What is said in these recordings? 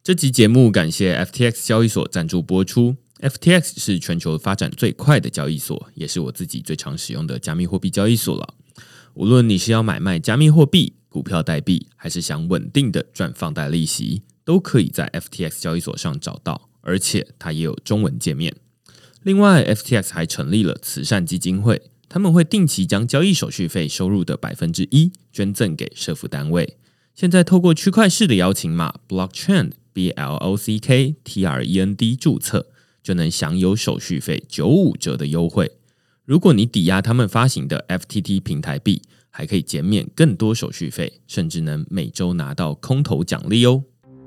这集节目感谢 FTX 交易所赞助播出。FTX 是全球发展最快的交易所，也是我自己最常使用的加密货币交易所了。无论你是要买卖加密货币、股票代币，还是想稳定的赚放贷利息，都可以在 FTX 交易所上找到，而且它也有中文界面。另外 FTX 还成立了慈善基金会，他们会定期将交易手续费收入的 1% 捐赠给社福单位。现在透过区块市的邀请码 Blocktrend BLOCKTREND 注册，就能享有手续费95折的优惠。如果你抵押他们发行的 FTT 平台币，还可以减免更多手续费，甚至能每周拿到空投奖励哦。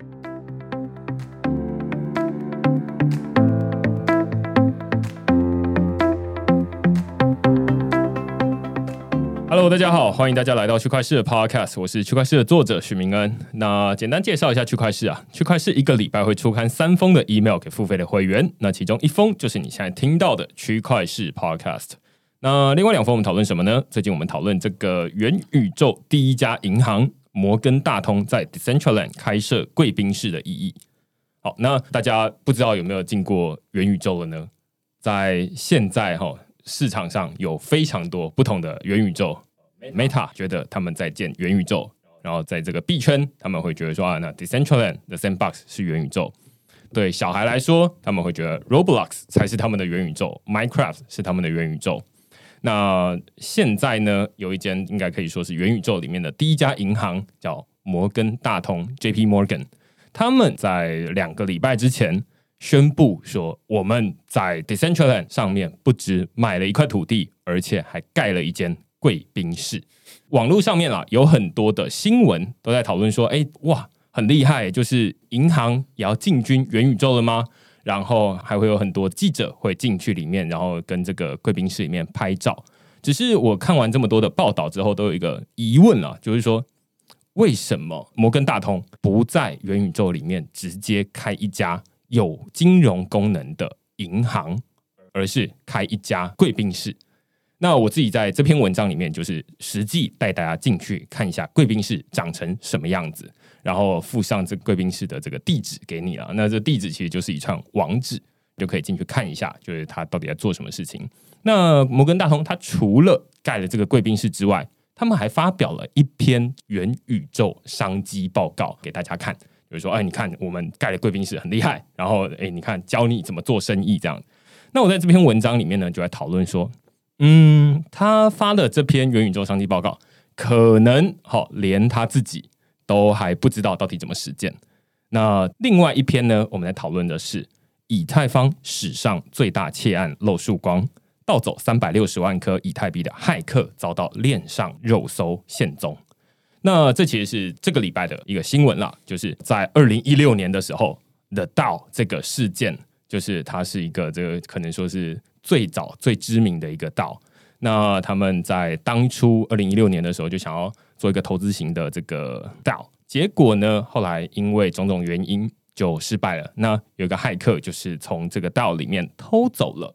Hello， 大家好，欢迎大家来到区块市的 Podcast， 我是区块市的作者许明恩。那简单介绍一下区块市啊，区块市一个礼拜会出刊3封的 email 给付费的会员，那其中1封就是你现在听到的区块市 Podcast。那另外2封我们讨论什么呢？最近我们讨论这个元宇宙第一家银行摩根大通在 Decentraland 开设贵宾室的意义。好，那大家不知道有没有进过元宇宙了呢？在现在市场上有非常多不同的元宇宙 ，Meta 觉得他们在建元宇宙，然后在这个币圈，他们会觉得说那 Decentraland 的 Sandbox 是元宇宙。对小孩来说，他们会觉得 Roblox 才是他们的元宇宙 ，Minecraft 是他们的元宇宙。那现在呢，有一间应该可以说是元宇宙里面的第一家银行，叫摩根大通 （JP Morgan），他们在2个礼拜之前宣布说，我们在 Decentraland 上面不只买了一块土地，而且还盖了一间贵宾室。网络上面有很多的新闻都在讨论说，哇，很厉害，就是银行也要进军元宇宙了吗？然后还会有很多记者会进去里面，然后跟这个贵宾室里面拍照。只是我看完这么多的报道之后，都有一个疑问就是说，为什么摩根大通不在元宇宙里面直接开一家有金融功能的银行，而是开一家贵宾室？那我自己在这篇文章里面就是实际带大家进去看一下贵宾室长成什么样子，然后附上这个贵宾室的这个地址给你了。那这地址其实就是一串网址，就可以进去看一下，就是他到底在做什么事情。那摩根大通他除了盖了这个贵宾室之外，他们还发表了一篇元宇宙商机报告给大家看，就是说，你看我们盖了贵宾室很厉害，然后你看教你怎么做生意这样。那我在这篇文章里面呢，就来讨论说，他发的这篇元宇宙商机报告，可能连他自己都还不知道到底怎么实践。那另外一篇呢，我们来讨论的是以太坊史上最大窃案漏曙光，盗走360万颗以太币的骇客遭到链上肉搜现踪。那这其实是这个礼拜的一个新闻啦，就是在2016年的时候 The DAO 这个事件，就是它是一个这个可能说是最早最知名的一个DAO。那他们在当初2016年的时候就想要做一个投资型的这个DAO，结果呢，后来因为种种原因就失败了。那有一个骇客就是从这个DAO里面偷走了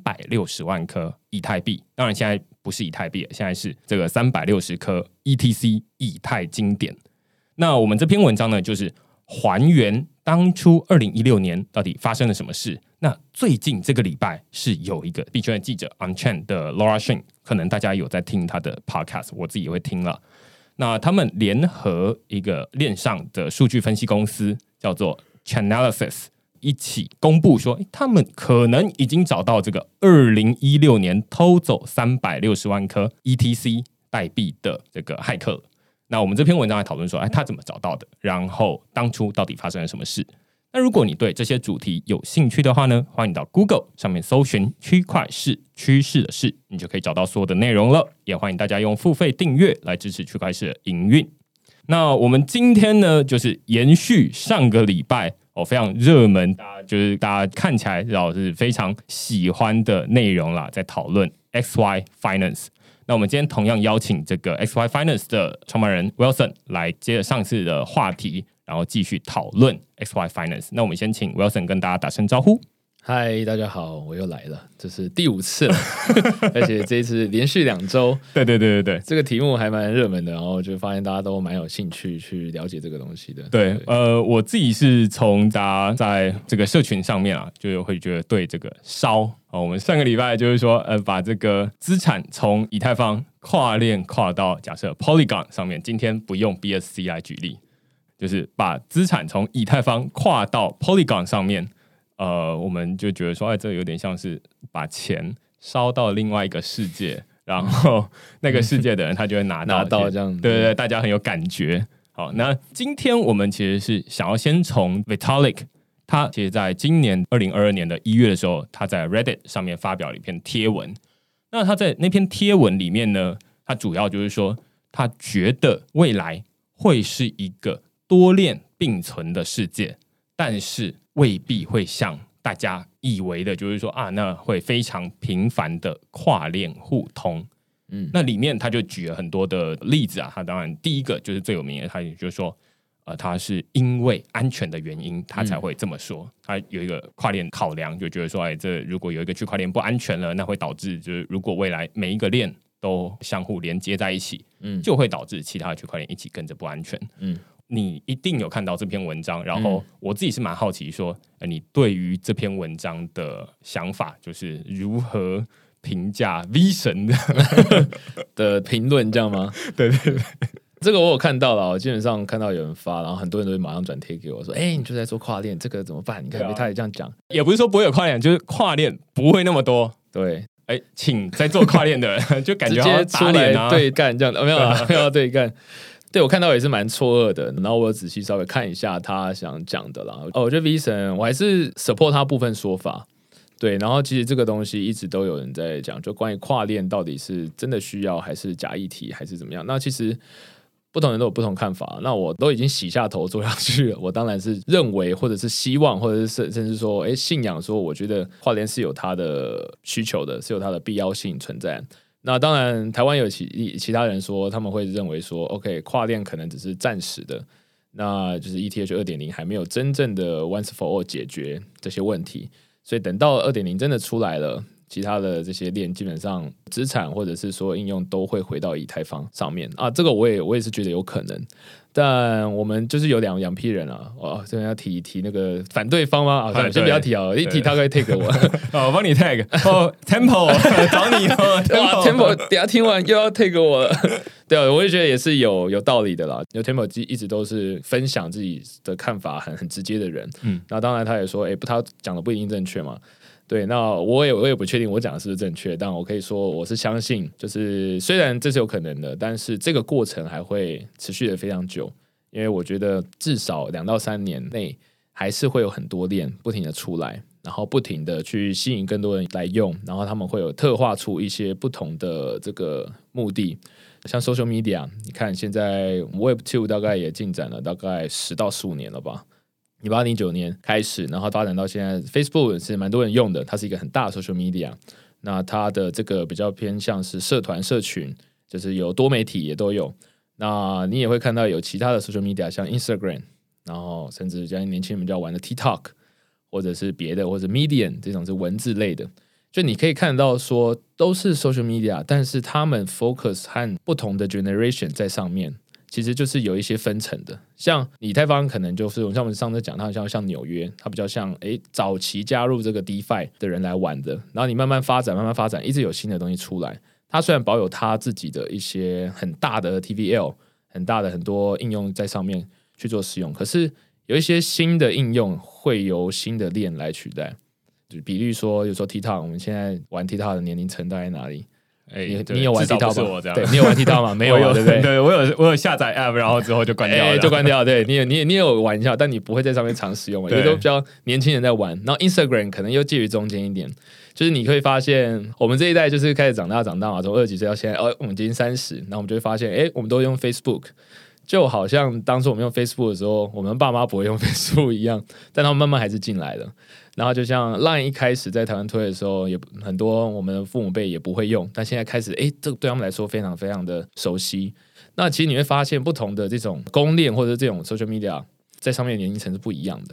360万颗以太币，当然现在不是以太币，现在是这个360颗 ETC 以太经典。那我们这篇文章呢，就是还原当初2016年到底发生了什么事。那最近这个礼拜是有一个币圈的记者 Onchain 的 Laura Shin， 可能大家有在听他的 podcast， 我自己也会听了。那他们联合一个链上的数据分析公司叫做 Chainalysis， 一起公布说，他们可能已经找到这个2016年偷走360万颗 ETC 代币的这个骇客了。那我们这篇文章来讨论说，他怎么找到的，然后当初到底发生了什么事。那如果你对这些主题有兴趣的话呢，欢迎到 Google 上面搜寻区块市趋势的事，你就可以找到所有的内容了。也欢迎大家用付费订阅来支持区块市的营运。那我们今天呢，就是延续上个礼拜非常热门，就是大家看起来是非常喜欢的内容啦，在讨论 XY Finance。那我们今天同样邀请这个 XY Finance 的创办人 Wilson 来接着上次的话题，然后继续讨论 XY Finance。那我们先请 Wilson 跟大家打声招呼。 嗨，大家好，我又来了，这是第5次了，而且这一次连续2周。 对， 这个题目还蛮热门的，然后就发现大家都蛮有兴趣去了解这个东西的。 对，我自己是从大家在这个社群上面啊，就会觉得对这个烧我们上个礼拜就是说，把这个资产从以太坊跨链跨到假设 Polygon 上面，今天不用 BSC 来举例，就是把资产从以太坊跨到 Polygon 上面。我们就觉得说，这有点像是把钱烧到另外一个世界，然后那个世界的人他就会拿到这样， 对，大家很有感觉。好，那今天我们其实是想要先从 Vitalik， 他其实在今年2022年的1月的时候，他在 Reddit 上面发表了一篇贴文。那他在那篇贴文里面呢，他主要就是说，他觉得未来会是一个多链并存的世界，但是未必会像大家以为的，就是说那会非常频繁的跨链互通。那里面他就举了很多的例子啊。他当然第一个就是最有名的，他也就是说，他是因为安全的原因，他才会这么说。他有一个跨链考量，就觉得说，这如果有一个区块链不安全了，那会导致就是如果未来每一个链都相互连接在一起，就会导致其他的区块链一起跟着不安全。你一定有看到这篇文章，然后我自己是蛮好奇说，你对于这篇文章的想法，就是如何评价 V 神的评论，这样吗？ 对， 这个我有看到了，我基本上看到有人发，然后很多人都会马上转贴给我说，你就在做跨链，这个怎么办？你看他也这样讲， 也不是说不会有跨链，就是跨链不会那么多。 对， 请在做跨链的人就感觉直接出来对干这样的，没有对干。对，我看到也是蛮错愕的，然后我仔细稍微看一下他想讲的啦。我觉得 V 神我还是 support 他部分说法，对，然后其实这个东西一直都有人在讲，就关于跨链到底是真的需要还是假议题还是怎么样。那其实不同人都有不同看法，那我都已经洗下头做下去了，我当然是认为或者是希望或者是甚至说信仰说，我觉得跨链是有它的需求的，是有它的必要性存在。那当然，台湾有其他人说，他们会认为说 ，OK， 跨链可能只是暂时的，那就是 ETH 2.0 还没有真正的 once for all 解决这些问题，所以等到 2.0 真的出来了，其他的这些链基本上资产或者是所有应用都会回到以太坊上面啊，这个我也是觉得有可能。但我们就是有两批人啊，这边要提那个反对方吗？先不要提啊，一提他会 take 我， 我帮你 tag。Tempo 找你 Tempo 等下听完又要 take 我了。对啊，我也觉得也是有道理的啦。因为 Tempo 一直都是分享自己的看法很直接的人。那当然他也说，他讲的不一定正确嘛。对，那我也不确定我讲的是不是正确，但我可以说我是相信，就是虽然这是有可能的，但是这个过程还会持续的非常久，因为我觉得至少2到3年内还是会有很多链不停的出来，然后不停的去吸引更多人来用，然后他们会有特化出一些不同的这个目的，像 social media， 你看现在 Web2 大概也进展了大概10到15年了吧。1809年开始，然后发展到现在 ，Facebook 是蛮多人用的，它是一个很大的 social media。那它的这个比较偏向是社团社群，就是有多媒体也都有。那你也会看到有其他的 social media， 像 Instagram， 然后甚至像年轻人比较玩的 TikTok， 或者是别的，或者 Medium 这种是文字类的。就你可以看到说都是 social media， 但是他们 focus 和不同的 generation 在上面。其实就是有一些分层的，像以太坊可能就是像我们上次讲，它像纽约，它比较像早期加入这个 DeFi 的人来玩的，然后你慢慢发展，一直有新的东西出来。它虽然保有它自己的一些很大的 TVL， 很大的很多应用在上面去做使用，可是有一些新的应用会由新的链来取代。就比如说，有时候 TikTok， 我们现在玩 TikTok 的年龄层大概哪里？你有玩 TikTok 吗？对，你有玩 TikTok 吗？没有，对不对？ 对，我有下载 App， 然后之后就关掉了， 就关掉。对，你有玩一下，但你不会在上面常使用嘛，因为都比较年轻人在玩。然后 Instagram 可能又介于中间一点，就是你会发现，我们这一代就是开始长大嘛，从20几岁到现在，我们今天30，然后我们就会发现，我们都用 Facebook， 就好像当初我们用 Facebook 的时候，我们爸妈不会用 Facebook 一样，但他们慢慢还是进来了。然后就像 Line 一开始在台湾推的时候，也很多我们的父母辈也不会用，但现在开始，这个对他们来说非常非常的熟悉。那其实你会发现，不同的这种公链或者这种 social media 在上面的年龄层是不一样的。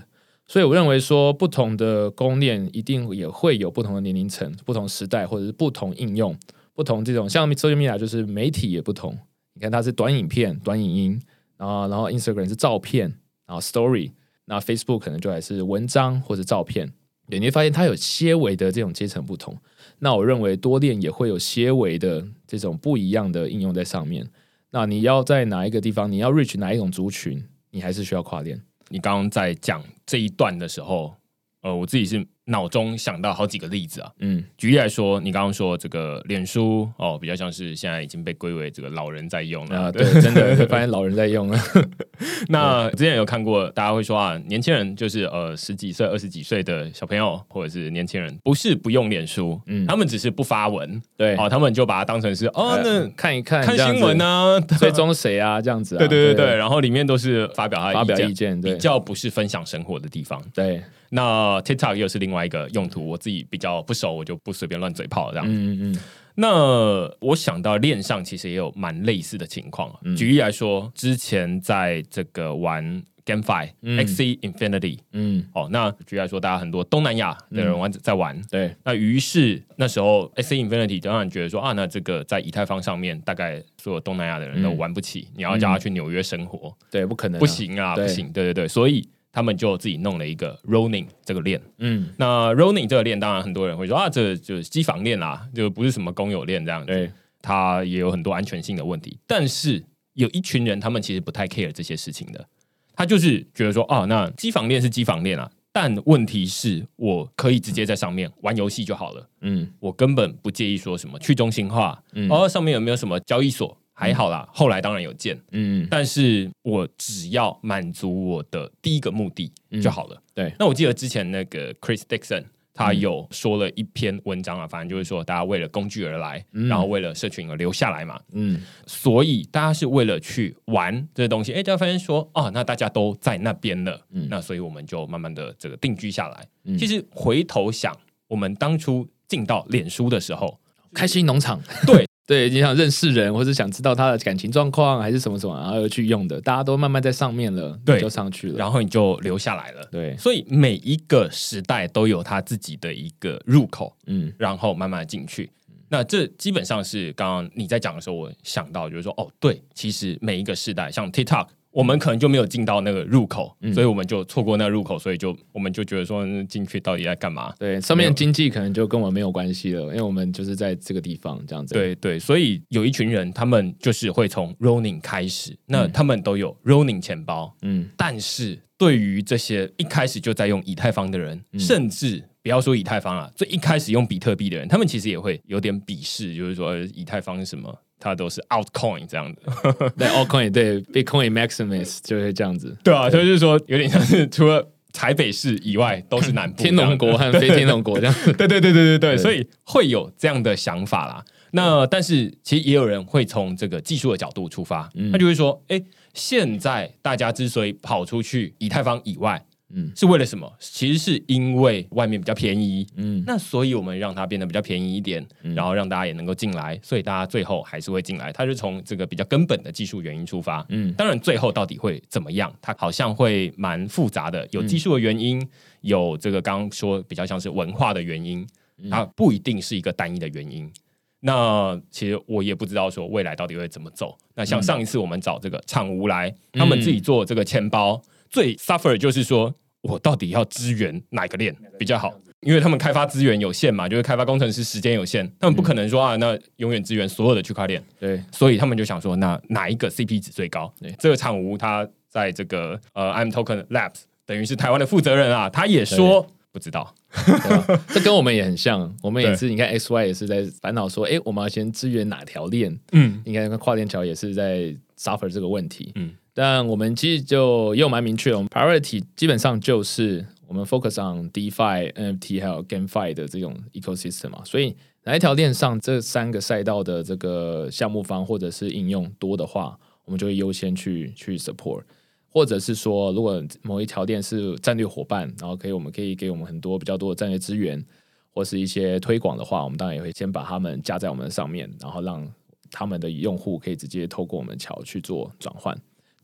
所以我认为说，不同的供应链一定也会有不同的年龄层、不同时代，或者是不同应用、不同这种像 social media 就是媒体也不同。你看它是短影片、短影音，然后 Instagram 是照片，然后 Story， 那 Facebook 可能就还是文章或者照片。对，你会发现它有些微的这种阶层不同。那我认为多链也会有些微的这种不一样的应用在上面。那你要在哪一个地方，你要 reach 哪一种族群，你还是需要跨链。 你刚刚在讲这一段的时候，我自己是脑中想到好几个例子啊。举例来说，你刚刚说这个脸书比较像是现在已经被归为这个老人在用了对，真的会发现老人在用了。 那之前有看过，大家会说啊，年轻人就是10几岁、20几岁的小朋友或者是年轻人，不是不用脸书，他们只是不发文， 对， 他们就把它当成是那看一看新闻啊， 追踪谁啊这样子啊， 对，然后里面都是发表他的意见， 比较不是分享生活的地方， 对。 那 TikTok 又是另外一个用途，我自己比较不熟，我就不随便乱嘴炮这样子。那我想到链上其实也有蛮类似的情况。举例来说，之前在这个玩 GameFi、Axie Infinity，那举例来说，大家很多东南亚的人在玩， 对。 那于是那时候 Axie Infinity 当然觉得说那这个在以太坊上面，大概所有东南亚的人都玩不起，你要叫他去纽约生活， 对，不可能， 不行啊，不行，对，所以他们就自己弄了一个 Ronin 这个链，那 Ronin 这个链，当然很多人会说这就是机房链啦，就不是什么公有链这样子， 对， 它也有很多安全性的问题。但是有一群人，他们其实不太 care 这些事情的，他就是觉得说那机房链是机房链啊，但问题是我可以直接在上面玩游戏就好了，我根本不介意说什么去中心化，上面有没有什么交易所。还好啦，后来当然有建，但是我只要满足我的第一个目的就好了。 对， 那我记得之前那个 Chris Dixon 他有说了一篇文章啊，反正就是说大家为了工具而来，然后为了社群而留下来嘛。所以大家是为了去玩这个东西，大家发现说那大家都在那边了，那所以我们就慢慢的这个定居下来。其实回头想，我们当初进到脸书的时候， 开心农场，对，你想认识人，或者想知道他的感情状况，还是什么什么，然后去用的，大家都慢慢在上面了，对，就上去了， 然后你就留下来了。 对， 所以每一个时代都有他自己的一个入口，然后慢慢进去。那这基本上是刚刚你在讲的时候，我想到就是说，对，其实每一个时代，像 TikTok。我们可能就没有进到那个入口，所以我们就错过那个入口，所以我们就觉得说进去到底在干嘛？ 对，上面的经济可能就跟我们没有关系了，因为我们就是在这个地方这样子。 对，所以有一群人，他们就是会从 Ronin 开始，那他们都有 Ronin 钱包，但是对于这些一开始就在用以太坊的人，甚至不要说以太坊最一开始用比特币的人，他们其实也会有点鄙视，就是说以太坊是什么？它都是 altcoin 这样的， 对 altcoin 对 Bitcoin Maximus 就会这样子， 对啊，就是说有点像是除了台北市以外都是南部天龙国和非天龙国这样， 对，所以会有这样的想法啦。那但是其实也有人会从这个技术的角度出发，他就会说，现在大家之所以跑出去以太坊以外。是为了什么？其实是因为外面比较便宜，那所以我们让它变得比较便宜一点，然后让大家也能够进来，所以大家最后还是会进来。它是从这个比较根本的技术原因出发，当然最后到底会怎么样，它好像会蛮复杂的，有技术的原因，有这个刚刚说比较像是文化的原因，它不一定是一个单一的原因。那其实我也不知道说未来到底会怎么走。那像上一次我们找这个厂无来，他们自己做这个钱包，最 suffer 就是说。我到底要支援哪个链比较好？因为他们开发资源有限嘛，就是开发工程师时间有限，他们不可能说那永远支援所有的区块链。 对， 所以他们就想说，那哪一个 CP 值最高？这个厂无他在这个I'm Token Labs， 等于是台湾的负责人啊，他也说不知道。 这跟我们也很像，我们也是，你看 XY 也是在烦恼说，我们要先支援哪条链？应该跟跨链桥也是在 suffer 这个问题。但我们其实就又蛮明确的，我们 priority 基本上就是我们 focus on DeFi、NFT 还有 GameFi 的这种 ecosystem 嘛，所以哪一条链上这3个赛道的这个项目方或者是应用多的话，我们就会优先去 support， 或者是说如果某一条链是战略伙伴，然后我们可以给我们很多比较多的战略资源或是一些推广的话，我们当然也会先把他们加在我们的上面，然后让他们的用户可以直接透过我们的桥去做转换。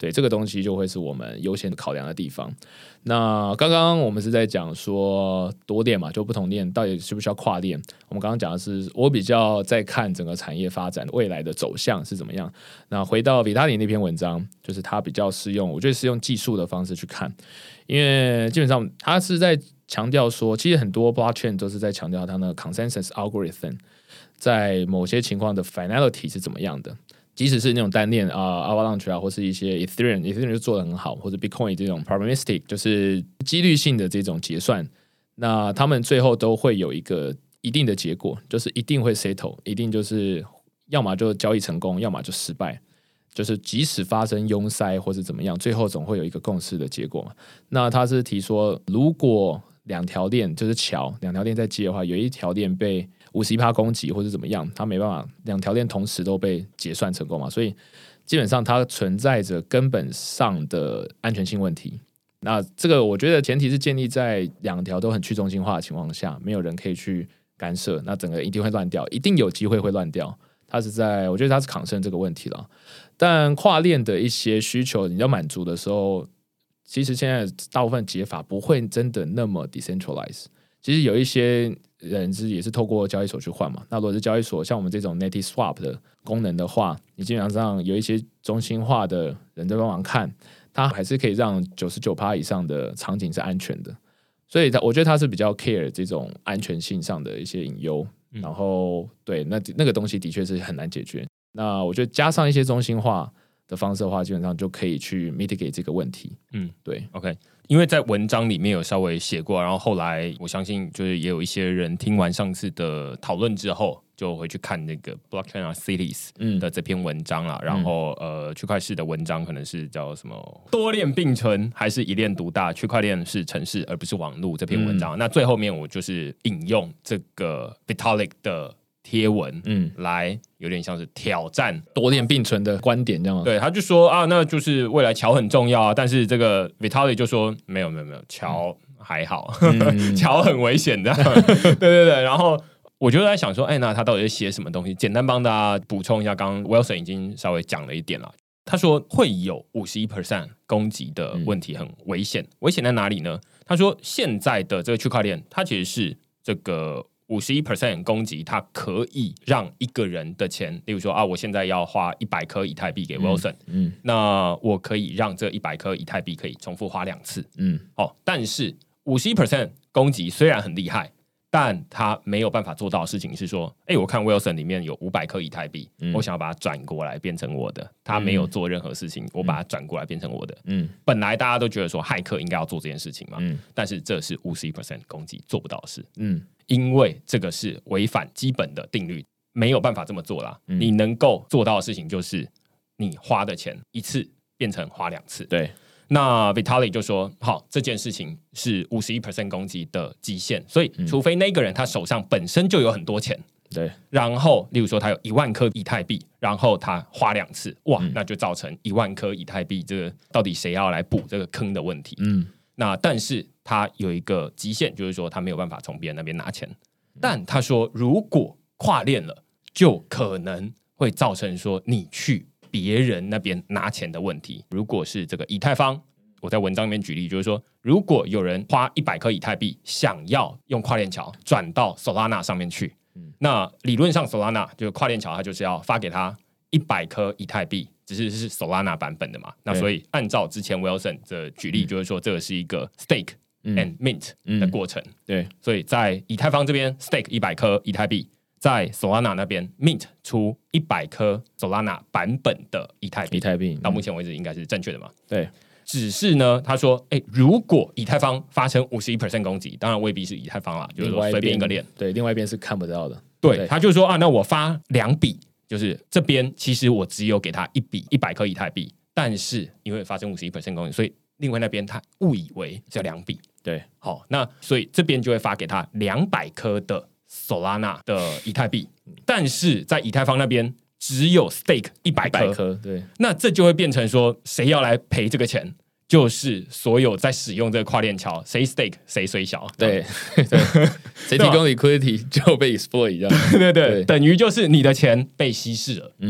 对，这个东西就会是我们优先考量的地方。那刚刚我们是在讲说多链嘛，就不同链到底需不需要跨链？我们刚刚讲的是我比较在看整个产业发展未来的走向是怎么样。那回到维塔里那篇文章，就是他比较是用，我觉得是用技术的方式去看，因为基本上他是在强调说，其实很多 blockchain 都是在强调它的 consensus algorithm 在某些情况的 finality 是怎么样的。即使是那种单链Avalanche 或是一些 Ethereum 就做得很好，或者 Bitcoin 这种 probabilistic 就是几率性的这种结算，那他们最后都会有一个一定的结果，就是一定会 settle， 一定就是要么就交易成功，要么就失败。就是即使发生拥塞或是怎么样，最后总会有一个共识的结果嘛。那他是提说，如果两条链就是桥，两条链在接的话，有一条链被51%攻击或者怎么样，它没办法两条链同时都被结算成功嘛，所以基本上它存在着根本上的安全性问题。那这个我觉得前提是建立在两条都很去中心化的情况下，没有人可以去干涉，那整个一定会乱掉，一定有机会会乱掉。我觉得它是抗胜这个问题了。但跨链的一些需求你要满足的时候，其实现在大部分解法不会真的那么 decentralize。其实有一些人也是透过交易所去换嘛。那如果是交易所像我们这种 native swap 的功能的话，你基本上有一些中心化的人在帮忙看，它还是可以让 99% 以上的场景是安全的。所以我觉得它是比较 care 这种安全性上的一些隐忧。然后对，那个东西的确是很难解决。那我觉得加上一些中心化的方式的话，基本上就可以去 mitigate 这个问题。对 ，OK。因为在文章里面有稍微写过，然后后来我相信就是也有一些人听完上次的讨论之后，就回去看那个 Blockchain Cities 的这篇文章啦。然后区块市的文章可能是叫什么多链并存还是一链独大？区块链是城市而不是网络这篇文章。那最后面我就是引用这个 Vitalik 的贴文，来有点像是挑战多链并存的观点，这样吗？ 对，他就说啊，那就是未来桥很重要啊，但是这个 Vitalik 就说没有，桥还好，桥很危险的，对，然后我就在想说，那他到底是写什么东西？简单帮大家补充一下，刚刚 Wilson 已经稍微讲了一点了。他说会有51% 攻击的问题，很危险。危险在哪里呢？他说现在的这个区块链，它其实是这个51% 攻击，它可以让一个人的钱，例如说我现在要花100颗以太币给 Wilson，那我可以让这100颗以太币可以重复花2次，但是51% 攻击虽然很厉害，但他没有办法做到的事情是说，我看 Wilson 里面有500颗以太币，我想要把它转过来变成我的，他没有做任何事情，我把它转过来变成我的。本来大家都觉得说骇客应该要做这件事情嘛，但是这是51% 攻击做不到的事，因为这个是违反基本的定律，没有办法这么做啦。你能够做到的事情就是你花的钱一次变成花2次。 对。 那 Vitalik 就说，好，这件事情是51% 攻击的极限，所以除非那个人他手上本身就有很多钱， 对， 然后例如说他有1万颗以太币，然后他花2次，哇，那就造成1万颗以太币，这个到底谁要来补这个坑的问题？那但是他有一个极限，就是说他没有办法从别人那边拿钱，但他说如果跨链了，就可能会造成说你去别人那边拿钱的问题。如果是这个以太坊，我在文章里面举例，就是说，如果有人花100颗以太币，想要用跨链桥转到 Solana 上面去，那理论上 Solana 就是跨链桥，它就是要发给他100颗以太币，只是 Solana 版本的嘛。那所以按照之前 Wilson 的举例，就是说这个是一个 stake and mint 的过程。 对， 所以在以太坊这边 stake 100颗以太币，在 Solana 那边 mint 出100颗 Solana 版本的以太币，到目前为止应该是正确的嘛？ 对。 只是呢，他说，如果以太坊发生51% 攻击，当然未必是以太坊啦，就是说随便一个链， 对，另外一边是看不到的。 对，他就说那我发2笔，就是这边其实我只有给他1笔100颗以太币，但是因为发生51% 攻击，所以另外那边他误以为是2笔。 对， 好，那所以这边就会发给他200颗的 Solana 的以太币，但是在以太坊那边只有 stake 100颗， 对， 那这就会变成说，谁要来赔这个钱？就是所有在使用这个跨链桥，谁 stake 谁衰小， 对，谁提供 liquidity 就被 exploit 这样， 对，等于就是你的钱被稀释了。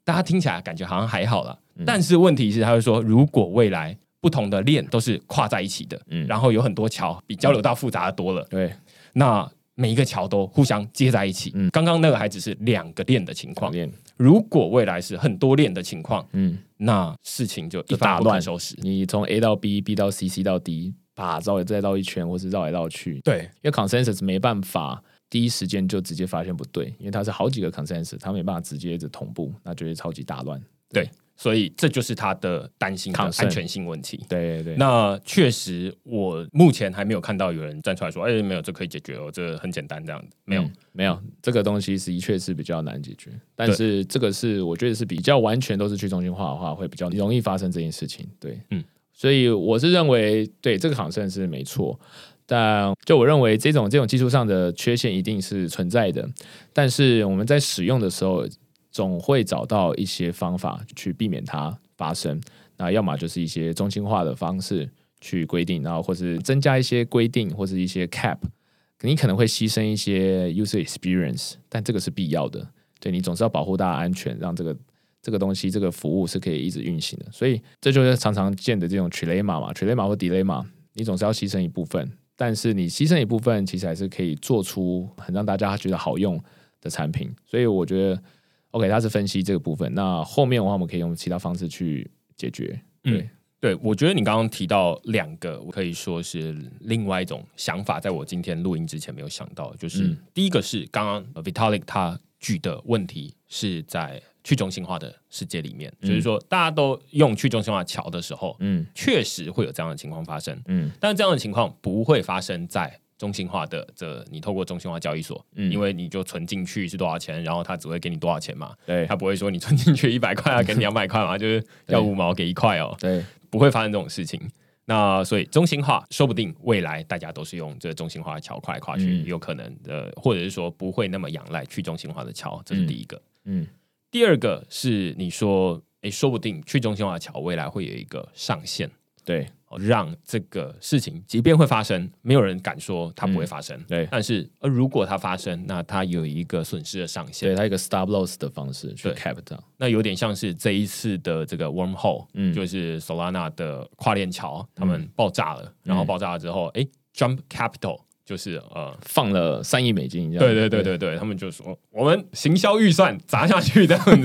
大家听起来感觉好像还好啦，但是问题是他会说，如果未来不同的链都是跨在一起的，然后有很多桥比交流道复杂的多了， 对， 那每一个桥都互相接在一起。刚刚那个还只是2个链的情况，如果未来是很多链的情况，那事情就一发不可收拾。 你从 A 到 B，B 到 C，C 到 D， 绕再绕一圈，或是绕来绕去。 对， 因为 consensus 没办法第一时间就直接发现不对，因为它是好几个 consensus， 它没办法直接同步，那就会超级大乱。 对，所以这就是他的担心的安全性问题。 对对， 那确实我目前还没有看到有人站出来说，没有，这可以解决哦，这很简单这样子。没有，这个东西的确是比较难解决，但是这个是我觉得是比较完全都是去中心化的话，会比较容易发生这件事情。对，所以我是认为，对这个好像是没错。但就我认为这种技术上的缺陷一定是存在的，但是我们在使用的时候总会找到一些方法去避免它发生。那要么就是一些中心化的方式去规定，然后或是增加一些规定或是一些 cap， 你可能会牺牲一些 user experience， 但这个是必要的。对，你总是要保护大家安全，让这个东西这个服务是可以一直运行的。所以这就是常常见的这种 trilemma 或 dilemma， 你总是要牺牲一部分。但是你牺牲一部分，其实还是可以做出很让大家觉得好用的产品。所以我觉得 OK， 它是分析这个部分。那后面的话，我们可以用其他方式去解决。 对，我觉得你刚刚提到2个，我可以说是另外一种想法，在我今天录音之前没有想到，就是第一个是刚刚 Vitalik 他举的问题是在去中心化的世界里面，就是说大家都用去中心化桥的时候，确实会有这样的情况发生，但是这样的情况不会发生在中心化的你透过中心化交易所，因为你就存进去是多少钱，然后他只会给你多少钱嘛，对，他不会说你存进去100块要给你200块嘛，就是要5毛给1块哦， 对， 不会发生这种事情。那所以中心化说不定未来大家都是用这中心化的桥跨来跨去，有可能或者是说不会那么仰赖去中心化的桥，这是第一个。第二个是你说，说不定去中心化的桥未来会有一个上限， 对， 让这个事情即便会发生，没有人敢说它不会发生。对，但是如果它发生，那它有一个损失的上限， 对，它有一个 stop loss 的方式去 cap 它。 那有点像是这一次的这个 wormhole，就是 Solana 的跨链桥，他们爆炸了，然后爆炸了之后，Jump Capital。就是放了3亿美金， 对，他们就说我们行销预算砸下去这样子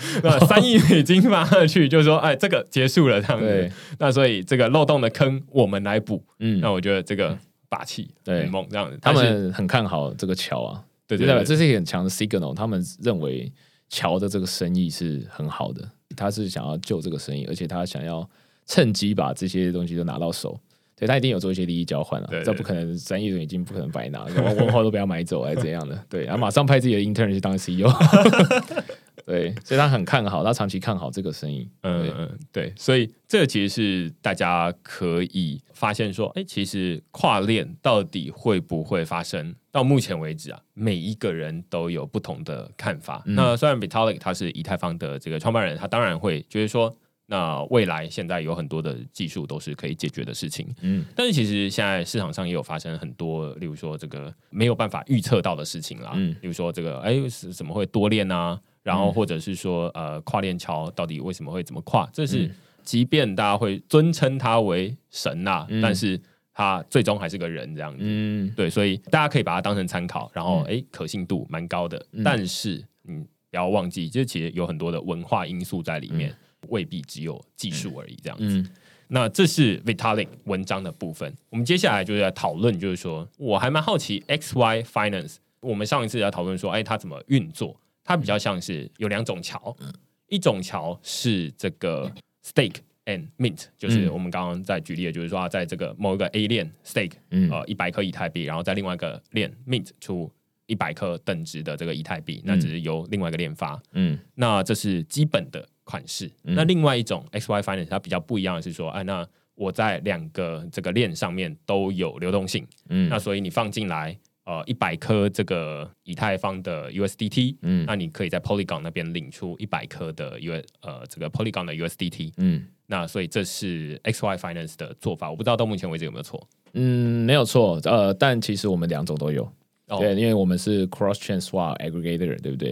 ，3亿美金发下去，就说这个结束了这样子。那所以这个漏洞的坑我们来补。那我觉得这个霸气很猛这样子。 他们很看好这个桥啊，对，这是一个很强的 signal。他们认为桥的这个生意是很好的，他是想要救这个生意，而且他想要趁机把这些东西都拿到手。对，他一定有做一些利益交换啊，这不可能3亿美金不可能白拿，文化都不要买走还是怎样的？对，然后马上派自己的 intern 去当 CEO， 对，所以他很看好，他长期看好这个生意。 对，所以这其实是大家可以发现说，其实跨链到底会不会发生？到目前为止啊，每一个人都有不同的看法。那虽然 Vitalik 他是以太坊的这个创办人，他当然会觉得说。那未来现在有很多的技术都是可以解决的事情，但是其实现在市场上也有发生很多，例如说这个没有办法预测到的事情啦，例如说这个怎么会多链啊，然后或者是说跨链桥到底为什么会怎么跨，这是即便大家会尊称他为神啊，但是他最终还是个人这样子，对，所以大家可以把它当成参考，然后可信度蛮高的，但是不要忘记，就其实有很多的文化因素在里面。未必只有技术而已，这样子。那这是 Vitalik 文章的部分。我们接下来就是来讨论，就是说，我还蛮好奇 XY Finance。我们上一次在讨论说，它怎么运作？它比较像是有2种桥，一种桥是这个 Stake and Mint， 就是我们刚刚在举例的，就是说，在这个某一个 A 链 Stake， 100颗以太币，然后在另外一个链 Mint 出100颗等值的这个以太币，那只是由另外一个链发。那这是基本的款式。那另外一种 XY Finance 它比较不一样的是说，那我在2个这个链上面都有流动性，那所以你放进来100颗这个以太坊的 USDT，那你可以在 Polygon 那边领出100颗的这个 Polygon 的 USDT，那所以这是 XY Finance 的做法，我不知道到目前为止有没有错。 没有错，但其实我们2种都有。对，因为我们是 cross chain swap aggregator， 对不对？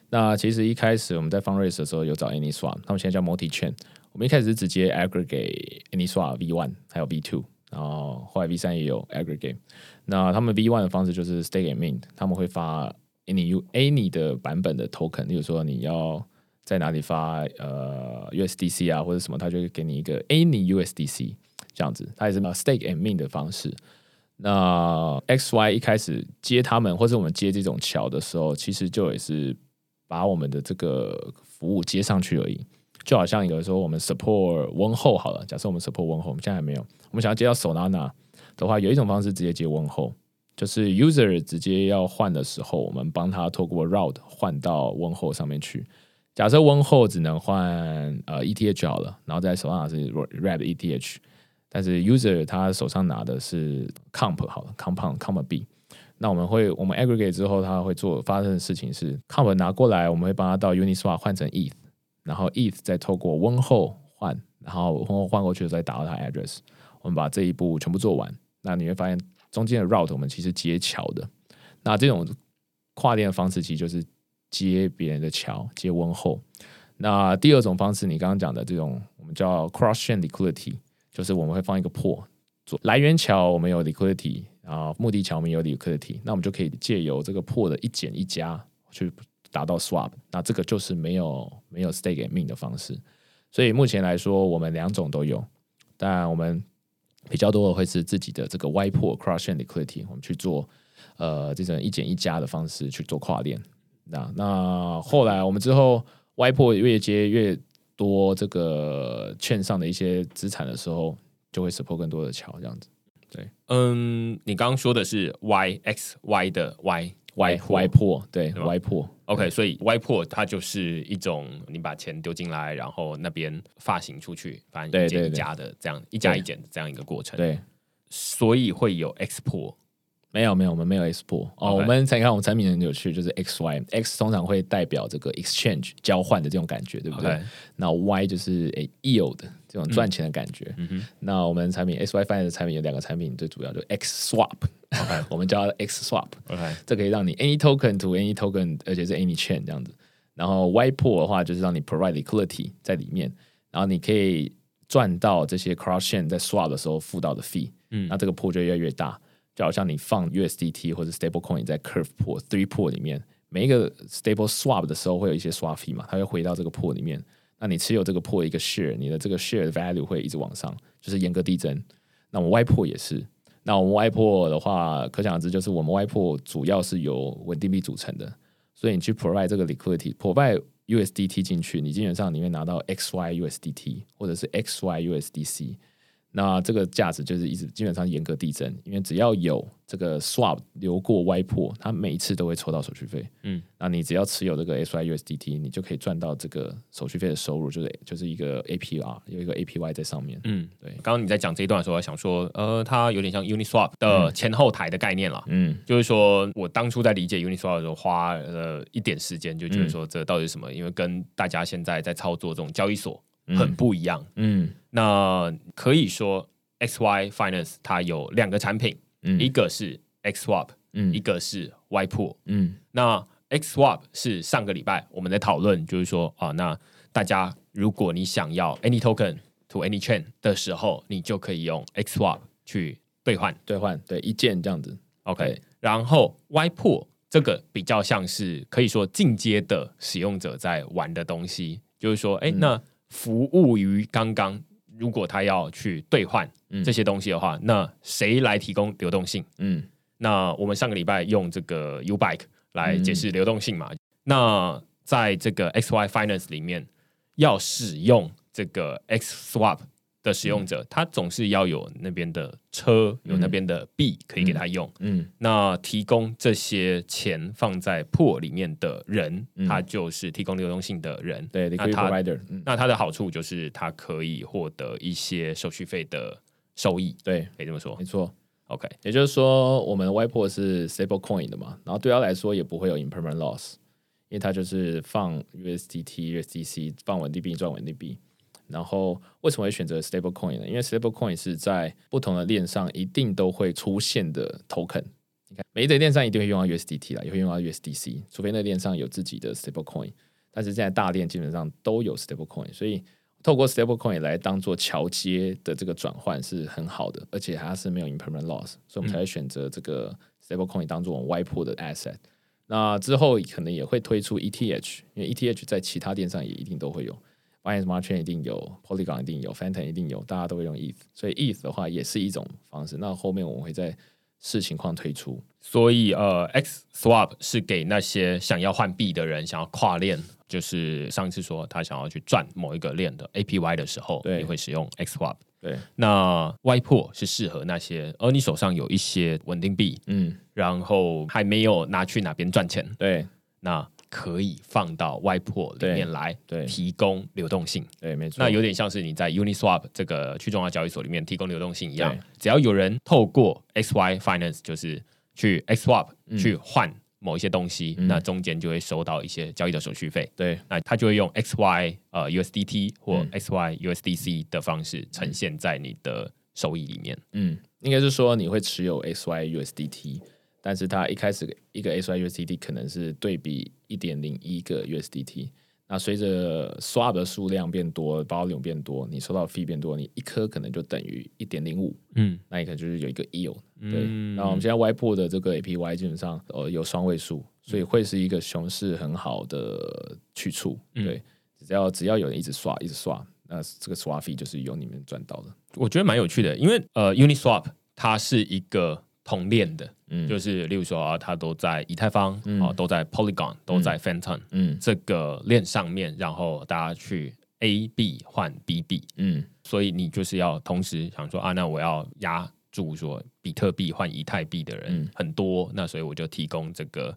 那其实一开始我们在 fundraise 的时候有找 AnySwap， 他们现在叫 MultiChain。我们一开始是直接 aggregate AnySwap V1 还有 V2， 然后后来 V3 也有 aggregate。那他们 V1 的方式就是 stake and mint， 他们会发 Any 的版本的 token， 例如说你要在哪里发USDC 啊或者什么，他就会给你一个 Any USDC 这样子，它也是 stake and mint 的方式。那 XY 一开始接他们或者我们接这种桥的时候，其实就也是把我们的这个服务接上去而已。就好像有的时候我们 support 温厚好了，假设我们 support 温厚，我们现在还没有，我们想要接到 Solana 的话，有一种方式直接接温厚，就是 user 直接要换的时候，我们帮他透过 route 换到温厚上面去。假设温厚只能换ETH 好了，然后在Solana是 Red ETH， 但是 user 他手上拿的是 Comp 好了 Compound B。那我们 aggregate 之后，他会发生的事情是 Comp 拿过来，我们会帮他到 Uniswap 换成 ETH， 然后 ETH 再透过温厚换，然后温厚换过去再打到他 address。我们把这一步全部做完，那你会发现中间的 route 我们其实接桥的。那这种跨链的方式其实就是接别人的桥，接温厚。那第二种方式，你刚刚讲的这种我们叫 cross chain liquidity， 就是我们会放一个破，来源桥我们有 liquidity。目的桥我们有 liquidity， 那我们就可以借由这个破的一减一加去达到 swap， 那这个就是没有 stake and mint 的方式。所以目前来说我们两种都有，当然我们比较多的会是自己的这个 Y 破 cross chain liquidity， 我们去做这种一减一加的方式去做跨链。那后来我们之后 Y 破越接越多这个券上的一些资产的时候，就会 support 更多的桥这样子。对， 你刚刚说的是 YXY 的 Y 破，对 Y 破 ，OK， 所以 Y 破它就是一种你把钱丢进来，然后那边发行出去，反正一减一加的这样一加一减的这样一个过程。 对， 所以会有 X 破。 没有，我们没有 X 破哦。我们才看我们产品很有趣，就是 XY，X 通常会代表这个 exchange 交换的这种感觉，对不对？那 Y 就是yield 这种赚钱的感觉。那我们产品 XY Finance 的产品有两个产品，最主要就是 X Swap， 我们叫它 X Swap， 这可以让你 any token to any token， 而且是 any chain 这样子。然后 Y 破的话，就是让你 provide liquidity 在里面，然后你可以赚到这些 cross chain 在 swap 的时候付到的 fee，那这个破就越来越大。就好像你放 USDT 或者 stable coin 在 curve pool 3 pool 里面，每一个 stable swap 的时候会有一些 swap fee 嘛，它会回到这个 pool 里面。那你持有这个 pool 一个 share， 你的这个 share 的 value 会一直往上，就是严格递增。那我们 Y pool 也是。那我们 Y pool 的话，可想而知，就是我们 Y pool 主要是由稳定币组成的，所以你去 provide 这个 liquidity，provide USDT 进去，你基本上里面拿到 XY USDT 或者是 XY USDC。那这个价值就是一直基本上严格递增，因为只要有这个 swap 流过 Y 破，它每一次都会抽到手续费。那你只要持有这个 XY USDT， 你就可以赚到这个手续费的收入，就是一个 APR， 有一个 APY 在上面。对。 刚刚你在讲这一段的时候，我想说，它有点像 Uniswap 的前后台的概念啦。就是说我当初在理解 Uniswap 的时候，花了一点时间，就觉得说这到底是什么？因为跟大家现在在操作这种交易所很不一样。那可以说 XY Finance 它有两个产品，一个是 XSwap，一个是 Y Pool。那 XSwap 是上个礼拜我们在讨论，就是说那大家如果你想要 any token to any chain 的时候，你就可以用 XSwap 去兑换， 对，一键这样子。 OK， 然后 Y Pool 这个比较像是可以说进阶的使用者在玩的东西，就是说，那服务于刚刚。如果他要去兑换这些东西的话，那谁来提供流动性？那我们上个礼拜用这个 Ubike 来解释流动性嘛。那在这个 XY Finance 里面，要使用这个 XSwap 的使用者，他总是要有那边的车，有那边的币可以给他用。那提供这些钱放在 pool 里面的人，他就是提供流动性的人。 对， 那他的好处就是他可以获得一些手续费的收益。 对， 可以这么说。 没错。 OK， 也就是说，我们的 Y pool 是 stable coin 的嘛，然后对他来说也不会有 impermanent loss， 因为他就是放 USDT、USDC 放稳定币赚稳定币。然后为什么会选择 stable coin 呢？因为 stable coin 是在不同的链上一定都会出现的 token。你每一个链上一定会用到 USDT 啦，也会用到 USDC， 除非那链上有自己的 stablecoin， 但是现在大链基本上都有 stablecoin， 所以透过 stablecoin 来当做桥接的这个转换是很好的，而且它是没有 impermanent loss， 所以我们才会选择这个 stablecoin 当做我们 YPO 的 asset。那之后可能也会推出 ETH， 因为 ETH 在其他电商也一定都会有。Binance Smart Chain 一定有 ，Polygon 一定有 ，Phantom 一定有，大家都会用 ETH， 所以 ETH 的话也是一种方式。那后面我们会再视情况推出。 所以XSwap 是给那些想要换币的人，想要跨链，就是上次说他想要去赚某一个链的 APY 的时候，你会使用 XSwap。 对， 那 YPO 是适合那些，你手上有一些稳定币，然后还没有拿去哪边赚钱， 对， 那可以放到 YPO 里面来， 对， 提供流动性， 对，没错。 那有点像是你在 Uniswap 这个去中央交易所里面提供流动性一样，只要有人透过 XY Finance 就是去 XSwap 去换某一些东西，那中间就会收到一些交易的手续费， 对， 那他就会用 XY USDT 或 XY USDC 的方式呈现在你的收益里面。 应该是说你会持有 XY USDT。但是它一开始一个 XY USDT 可能是对比 1.01 个 USDT， 那随着 swap 的数量变多 volume 变多，你收到的 fee 变多，你一颗可能就等于 1.05， 那你可能就是有一个 yield，对。那我们现在 YPO 的这个 APY 基本上有双位数，所以会是一个熊市很好的去处，对。只要有人一直刷，那这个刷 fee 就是由你们赚到的。 我觉得蛮有趣的，因为Uniswap 它是一个同链的，就是例如说它都在以太坊，都在 Polygon， 都在 Phantom，这个链上面，然后大家去 A 币换 B 币，所以你就是要同时想说那我要压住说比特币换以太币的人很多，那所以我就提供这个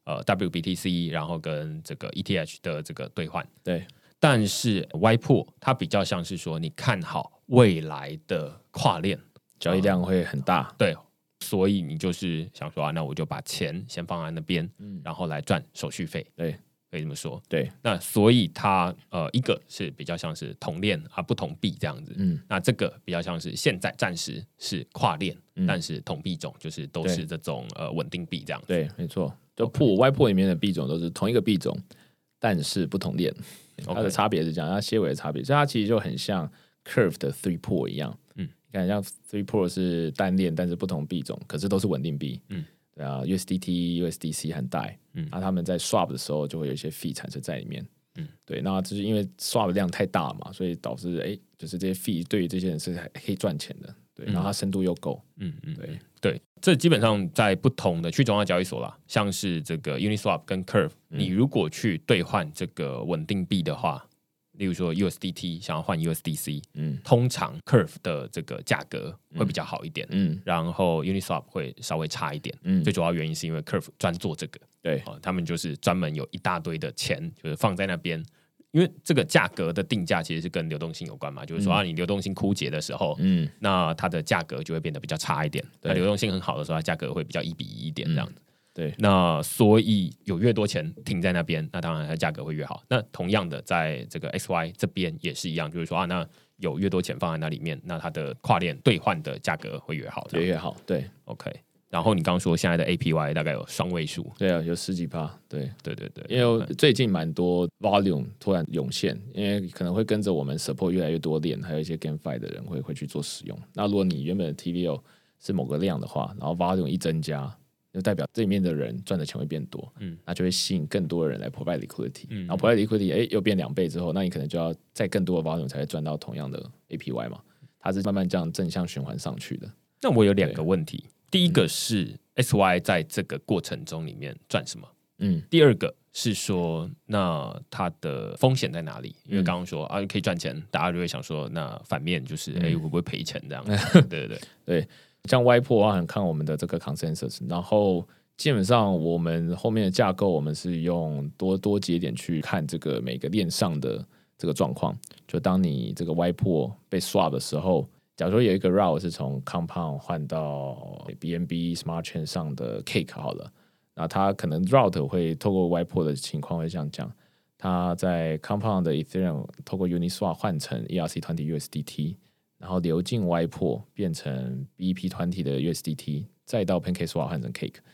WBTC， 然后跟这个 ETH 的这个兑换， 对。 但是 YPO 它比较像是说你看好未来的跨链交易量会很大， 对。所以你就是想说那我就把钱先放在那边，然后来赚手续费， 对， 可以这么说， 对。 那所以它一个是比较像是同链不同币这样子，那这个比较像是现在暂时是跨链，但是同币种就是都是这种稳定币这样子， 对，没错。就YPO 里面的币种都是同一个币种，但是不同链，它的差别是这样，它些微的差别，所以它其实就很像 Curve 的 3POOL 一样，你看像 3POOL 是单链，但是不同币种，可是都是稳定币，对啊 ，USDT、USDC 和 DAI，那他们在 swap 的时候就会有一些 fee 产生在里面，对，那就是因为 swap 的量太大嘛，所以导致就是这些 fee 对于这些人是可以赚钱的，对，然后它深度又够， 对，这基本上在不同的去中央交易所啦，像是这个 Uniswap 跟 Curve，你如果去兑换这个稳定币的话，例如说 USDT 想要换 USDC，通常 Curve 的这个价格会比较好一点，然后 Uniswap 会稍微差一点，最主要原因是因为 Curve 专做这个， 对， 他们就是专门有一大堆的钱，就是放在那边。因为这个价格的定价其实是跟流动性有关嘛，就是说你流动性枯竭的时候，那它的价格就会变得比较差一点；那流动性很好的时候，它价格会比较1比1一点这样子。 对， 那所以有越多钱停在那边，那当然它价格会越好。那同样的，在这个 XY 这边也是一样，就是说那有越多钱放在那里面，那它的跨链兑换的价格会越好， 越好。对 ，OK。然后你刚刚说现在的 APY 大概有双位数， 对啊，有10几%，对，因为最近蛮多 volume 突然涌现，因为可能会跟着我们 support 越来越多链，还有一些 GameFi 的人会去做使用。那如果你原本的 TVL 是某个量的话，然后 volume 一增加，就代表这里面的人赚的钱会变多，那就会吸引更多的人来 provide liquidity，然后 provide liquidity 又变2倍之后，那你可能就要再更多的 volume 才会赚到同样的 APY 嘛，它是慢慢这样正向循环上去的。 那我有2个问题，第一个是 XY 在这个过程中里面赚什么？第二个是说，那它的风险在哪里？因为刚刚说可以赚钱，大家就会想说，那反面就是会不会赔钱这样？ 对，像 YPO 很看我们的这个 consensus， 然后基本上我们后面的架构，我们是用多节点去看这个每个链上的这个状况。就当你这个 YPO 被 swap 的时候，假如说有一个 route 是从 Compound 换到 BNB Smart Chain 上的 Cake 好了，那它可能 route 会透过 YPO 的情况会这样讲，它在 Compound 的 Ethereum 透过 Uniswap 换成 ERC20 USDT， 然后流进 YPO 变成 BEP20 的 USDT， 再到 PancakeSwap 换成 Cake。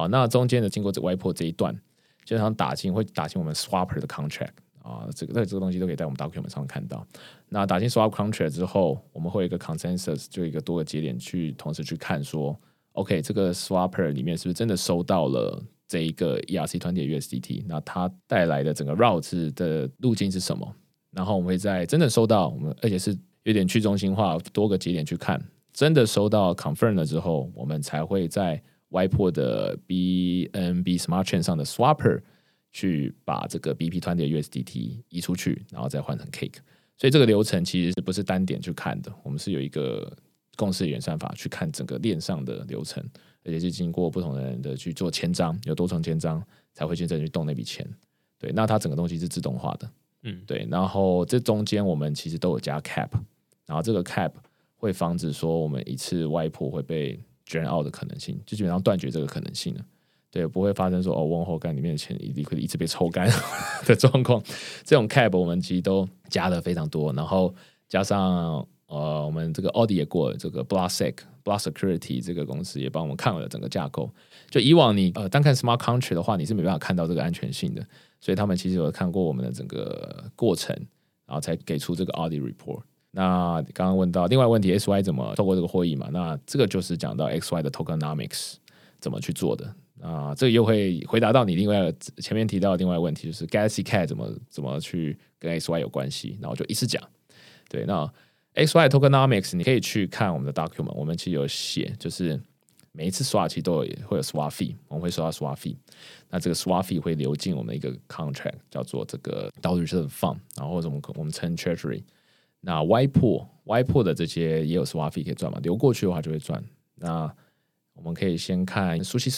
好，那中间的经过YPO 这一段，基本上会打进我们 swapper 的 contract 啊，这个东西都可以在我们 document 上看到。那打进 swap contract 之后，我们会有一个 consensus， 就一个多个节点去同时去看说 ，OK， 这个 swapper 里面是不是真的收到了这一个 ERC20 的 USDT？ 那它带来的整个 route 的路径是什么？然后我们会在真的收到，而且是有点去中心化，多个节点去看，真的收到 confirm 了之后，我们才会在 YPO 的 BNB Smart Chain 上的 swapper 去把这个 BP20 的 USDT 移出去，然后再换成 Cake。所以这个流程其实不是单点去看的，我们是有一个共识演算法去看整个链上的流程，而且是经过不同的人的去做签章，有多重签章才会真正去动那笔钱。对，那它整个东西是自动化的，对。然后这中间我们其实都有加 cap， 然后这个 cap 会防止说我们一次YPO会被 drain out 的可能性，就基本上断绝这个可能性了。对，不会发生说问候干里面的钱会一直被抽干的状况。这种 cap 我们其实都加的非常多，然后加上我们这个 audit 也过了，这个 Block Security 这个公司也帮我们看了整个架构。就以往你单看 Smart Contract 的话，你是没办法看到这个安全性的，所以他们其实有看过我们的整个过程，然后才给出这个 audit report。那刚刚问到另外问题 ，XY 怎么透过这个会议嘛？那这个就是讲到 XY 的 tokenomics 怎么去做的。这个又会回答到你另外前面提到的另外一个问题，就是 Galaxy Cat 怎么去跟 XY 有关系，然后就一次讲。对，那 XY tokenomics 你可以去看我们的 document， 我们其实有写，就是每一次刷其实都会有 swap fee， 我们会收到 swap fee， 那这个 swap fee 会流进我们的一个 contract 叫做这个 Dollar Reserve Fund， 然后或者我们称 Treasury。那 YPO 的这些也有 swap fee 可以赚嘛，流过去的话就会赚。那我们可以先看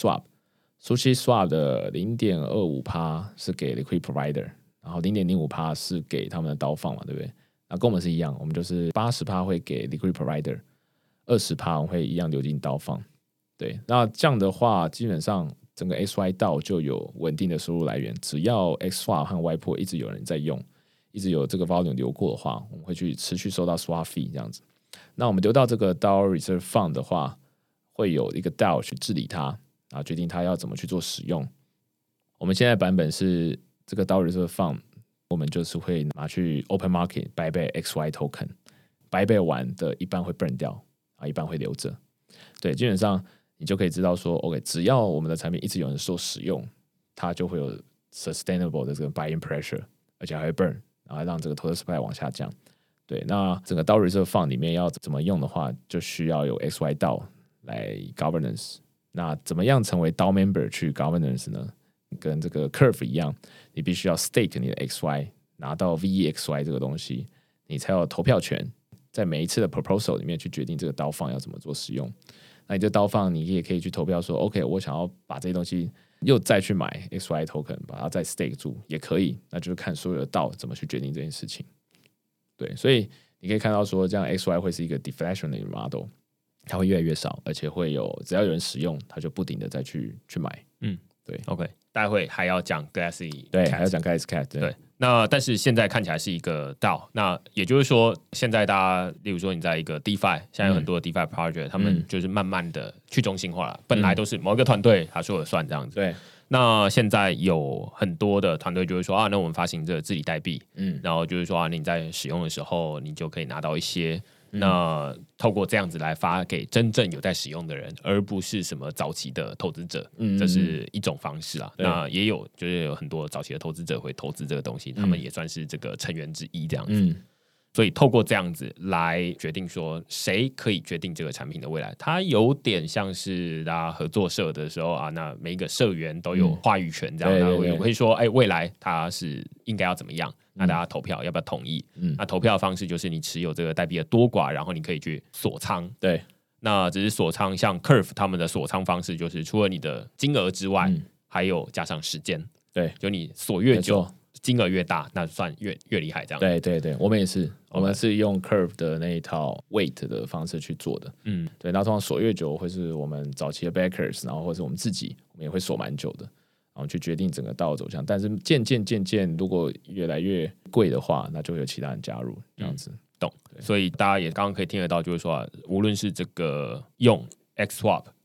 Sushi Swap 的 0.25% 是给 Liquid Provider， 然后 0.05% 是给他们的刀放嘛，对不对？那跟我们是一样，我们就是 80% 会给 Liquid Provider， 20% 我们会一样流进刀放。对，那这样的话，基本上整个 XY 道就有稳定的收入来源。只要 XSwap 和 YPO 一直有人在用，一直有这个 volume 流过的话，我们会去持续收到 swap fee 这样子。那我们留到这个 Dollar Reserve Fund 的话，会有一个 DAO 去治理它，然后决定它要怎么去做使用。我们现在版本是这个 Dollar Reserve Fund， 我们就是会拿去 Open Market buy back XY Token， buy back 完的一半会 burn 掉，一半会留着。对，基本上你就可以知道说 ，OK， 只要我们的产品一直有人受使用，它就会有 sustainable 的这个 buying pressure， 而且还会 burn， 然后让这个 total supply 往下降。对，那整个 Dollar Reserve Fund 里面要怎么用的话，就需要有 XY DAO 来 governance。那怎么样成为 DAO member 去 governance 呢？跟这个 Curve 一样，你必须要 stake 你的 XY， 拿到 VEXY 这个东西，你才有投票权，在每一次的 proposal 里面去决定这个DAO Fund要怎么做使用。那你这DAO Fund你也可以去投票说 ，OK， 我想要把这些东西又再去买 XY token， 把它再 stake 住也可以。那就是看所有的DAO怎么去决定这件事情。对，所以你可以看到说，这样 XY 会是一个 deflationary model， 它会越来越少，而且会有只要有人使用，它就不停的再去买。对 ，OK， 待会还要讲 Galaxy， 对，还要讲 Galaxy Cat， 对。那但是现在看起来是一个DAO，那也就是说，现在大家，例如说你在一个 DeFi， 现在有很多的 DeFi project， 他们就是慢慢的去中心化了，本来都是某一个团队他说了算这样子， 对。 那现在有很多的团队就会说那我们发行这个治理代币，然后就是说你在使用的时候，你就可以拿到一些。那透过这样子来发给真正有在使用的人，而不是什么早期的投资者，这是一种方式啊。那也有就是有很多早期的投资者会投资这个东西，他们也算是这个成员之一这样子。所以透过这样子来决定说谁可以决定这个产品的未来，它有点像是大家合作社的时候那每一个社员都有话语权这样，那我会说未来它是应该要怎么样，那大家投票要不要同意？那投票的方式就是你持有这个代币的多寡，然后你可以去锁仓。 对， 那只是锁仓，像 Curve 他们的锁仓方式就是除了你的金额之外，还有加上时间。 对， 就你锁越久，金额越大，那算越厉害这样。 对对对，我们也是，我们是用 Curve 的那一套 weight 的方式去做的。对，那通常锁越久会是我们早期的 backers， 然后或是我们自己，我们也会锁蛮久的，然后去决定整个道走向。但是渐渐，如果越来越贵的话，那就会有其他人加入这样子。 懂。所以大家也刚刚可以听得到，就是说无论是这个用 XSwap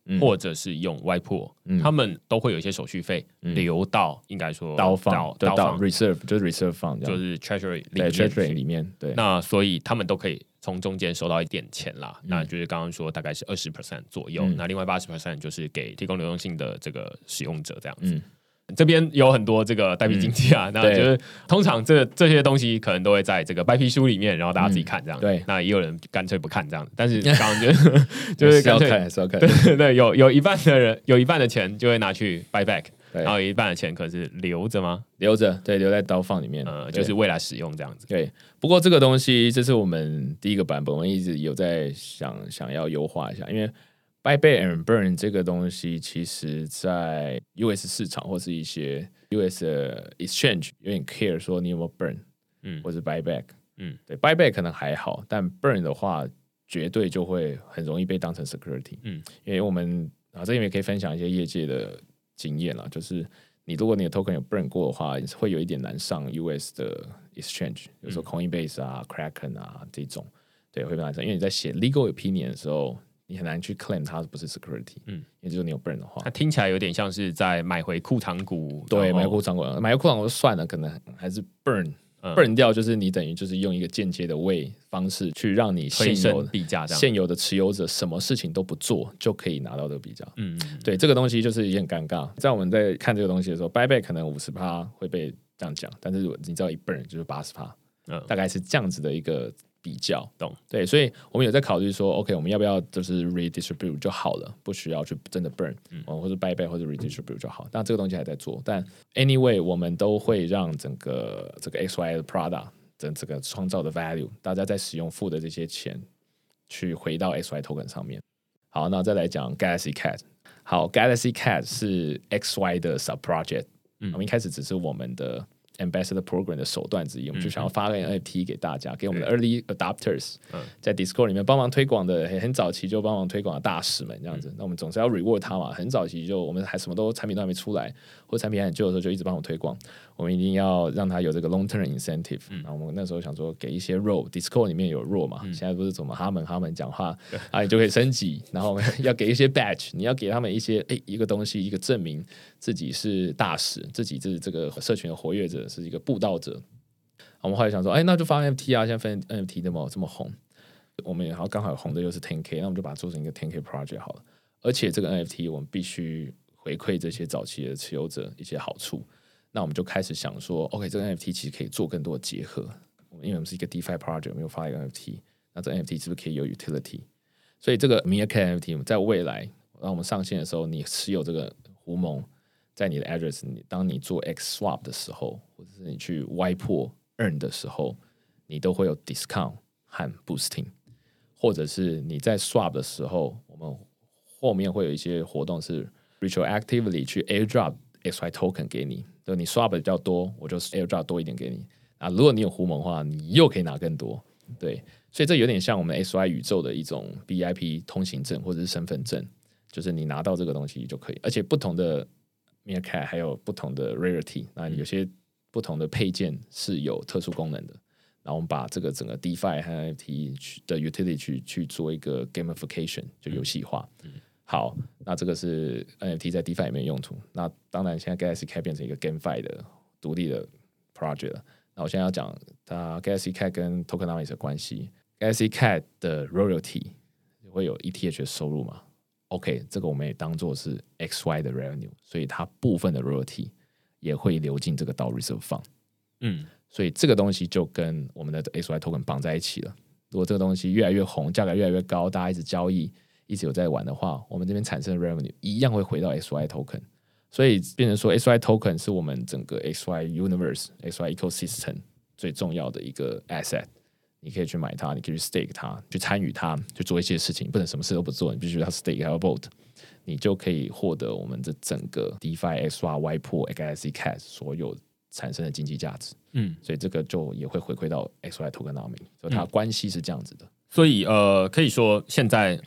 或者是用 Y pool，他们都会有一些手续费流到应该说到 reserve 就是 reserve fund， 就是 treasury 里面，对， 那所以他们都可以从中间收到一点钱啦，那就是刚刚说大概是20% 左右，那另外80% 就是给提供流动性的这个使用者这样子。这边有很多这个代币经济啊，那就是通常这些东西可能都会在这个白皮书里面，然后大家自己看这样。对，那也有人干脆不看这样，但是刚刚就是干脆还是要看， 对，有一半的人有一半的钱就会拿去 buy back， 然后有一半的钱可能是留着吗？ 留着，对，留在刀放里面， 就是未来使用这样子。 对，不过这个东西这是我们第一个版本，我们一直有在想要优化一下，因为Buy Back and Burn 这个东西，其实在 US 市场或是一些 US 的 exchange 有点 care 说你有没有 burn，或者 buy back，对 ，buy back 可能还好，但 burn 的话，绝对就会很容易被当成 security，因为我们这里面可以分享一些业界的经验啦，就是如果你的 token 有 burn 过的话，会有一点难上 US 的 exchange， 比如说 Coinbase 啊、Kraken 啊这种，对，会难上，因为你在写 legal opinion 的时候。你很难去 claim 它不是 security，因为就是你有 burn 的话， 它听起来有点像是在买回库藏股， 对，买回库藏股就算了，可能还是 burn 掉，就是你等于就是用一个间接的方式去让你现有的持有者什么事情都不做就可以拿到这个币价，对，这个东西就是也很尴尬。在我们在看这个东西的时候 ，buy back 可能50%会被这样讲，但是你知道一 burn 就是80%，大概是这样子的一个。比较懂对，所以我们有在考虑说 ，OK， 我们要不要就是 redistribute 就好了，不需要去真的 burn，或者 buy back 或者 redistribute 就好。但这个东西还在做，但 anyway， 我们都会让整个这个 XY 的 product 的这个创造的 value， 大家在使用付的这些钱去回到 XY token 上面。好，那再来讲 Galaxy Cat。好 ，Galaxy Cat 是 XY 的 sub project，我们一开始只是我们的。Ambassador Program 的手段之一，我们就想要发个 NFT 给大家，给我们的 Early Adopters，在 Discord 里面帮忙推广的，很早期就帮忙推广的大使们这样子。那我们总是要 reward 他嘛，很早期就我们还什么产品都还没出来，或者产品还很旧的时候，就一直帮我推广。我们一定要让他有这个 long term incentive。那我们那时候想说，给一些 role，Discord 里面有 role 嘛，现在不是怎么哈们讲话啊，你就可以升级。然后要给一些 badge， 你要给他们一些一个东西，一个证明自己是大使，自己是这个社群的活跃者。是一个布道者，我们后来想说，那就发 NFT 啊，现在分 NFT 这么红，我们然后刚好红的又是 10K， 那我们就把它做成一个 10K project 好了。而且这个 NFT 我们必须回馈这些早期的持有者一些好处，那我们就开始想说 ，OK， 这个 NFT 其实可以做更多的结合，因为我们是一个 DeFi project， 我们又发一个 NFT， 那这个 NFT 是不是可以有 utility？ 所以这个 Meerkat NFT 在未来让我们上线的时候，你持有这个胡蒙。在你的 address， 当你做 X swap 的时候，或者是你去 Y pool earn 的时候，你都会有 discount 和 boosting， 或者是你在 swap 的时候，我们后面会有一些活动是 retroactively 去 airdrop XY token 给你，就你 swap 比较多，我就 airdrop 多一点给你。啊，如果你有胡蒙的话，你又可以拿更多。对，所以这有点像我们 XY 宇宙的一种 BIP 通行证或者是身份证，就是你拿到这个东西就可以，而且不同的。Meerkat 还有不同的 rarity， 那有些不同的配件是有特殊功能的。然后我们把这个整个 DeFi 和 NFT 的 utility 去做一个 gamification， 就游戏化。好，那这个是 NFT 在 DeFi 里面用途。那当然，现在 Galaxy Cat 变成一个 GameFi 的独立的 project 了。那我现在要讲它 Galaxy Cat 跟 Tokenomics 的关系。Galaxy Cat 的 royalty 会有 ETH 的收入吗？OK， 这个我们也当做是 XY 的 revenue， 所以它部分的 royalty 也会流进这个到 reserve fund。所以这个东西就跟我们的 XY token 绑在一起了。如果这个东西越来越红，价格越来越高，大家一直交易，一直有在玩的话，我们这边产生的 revenue 一样会回到 XY token。所以变成说 XY token 是我们整个 XY universe、XY ecosystem 最重要的一个 asset。你可以去买它，你可以去 stake 它，去参与它，去做一些事情，不能什么事都不做，你必须要 stake 还要 vote， 你就可以获得我们这整个 DeFi XY pool Galaxy Cat 所有产生的经济价值。所以这个就也会回馈到 XY tokenomics， 所以它关系是这样子的。 所以可以说现在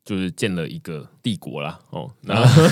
就是建了一个帝国啦。那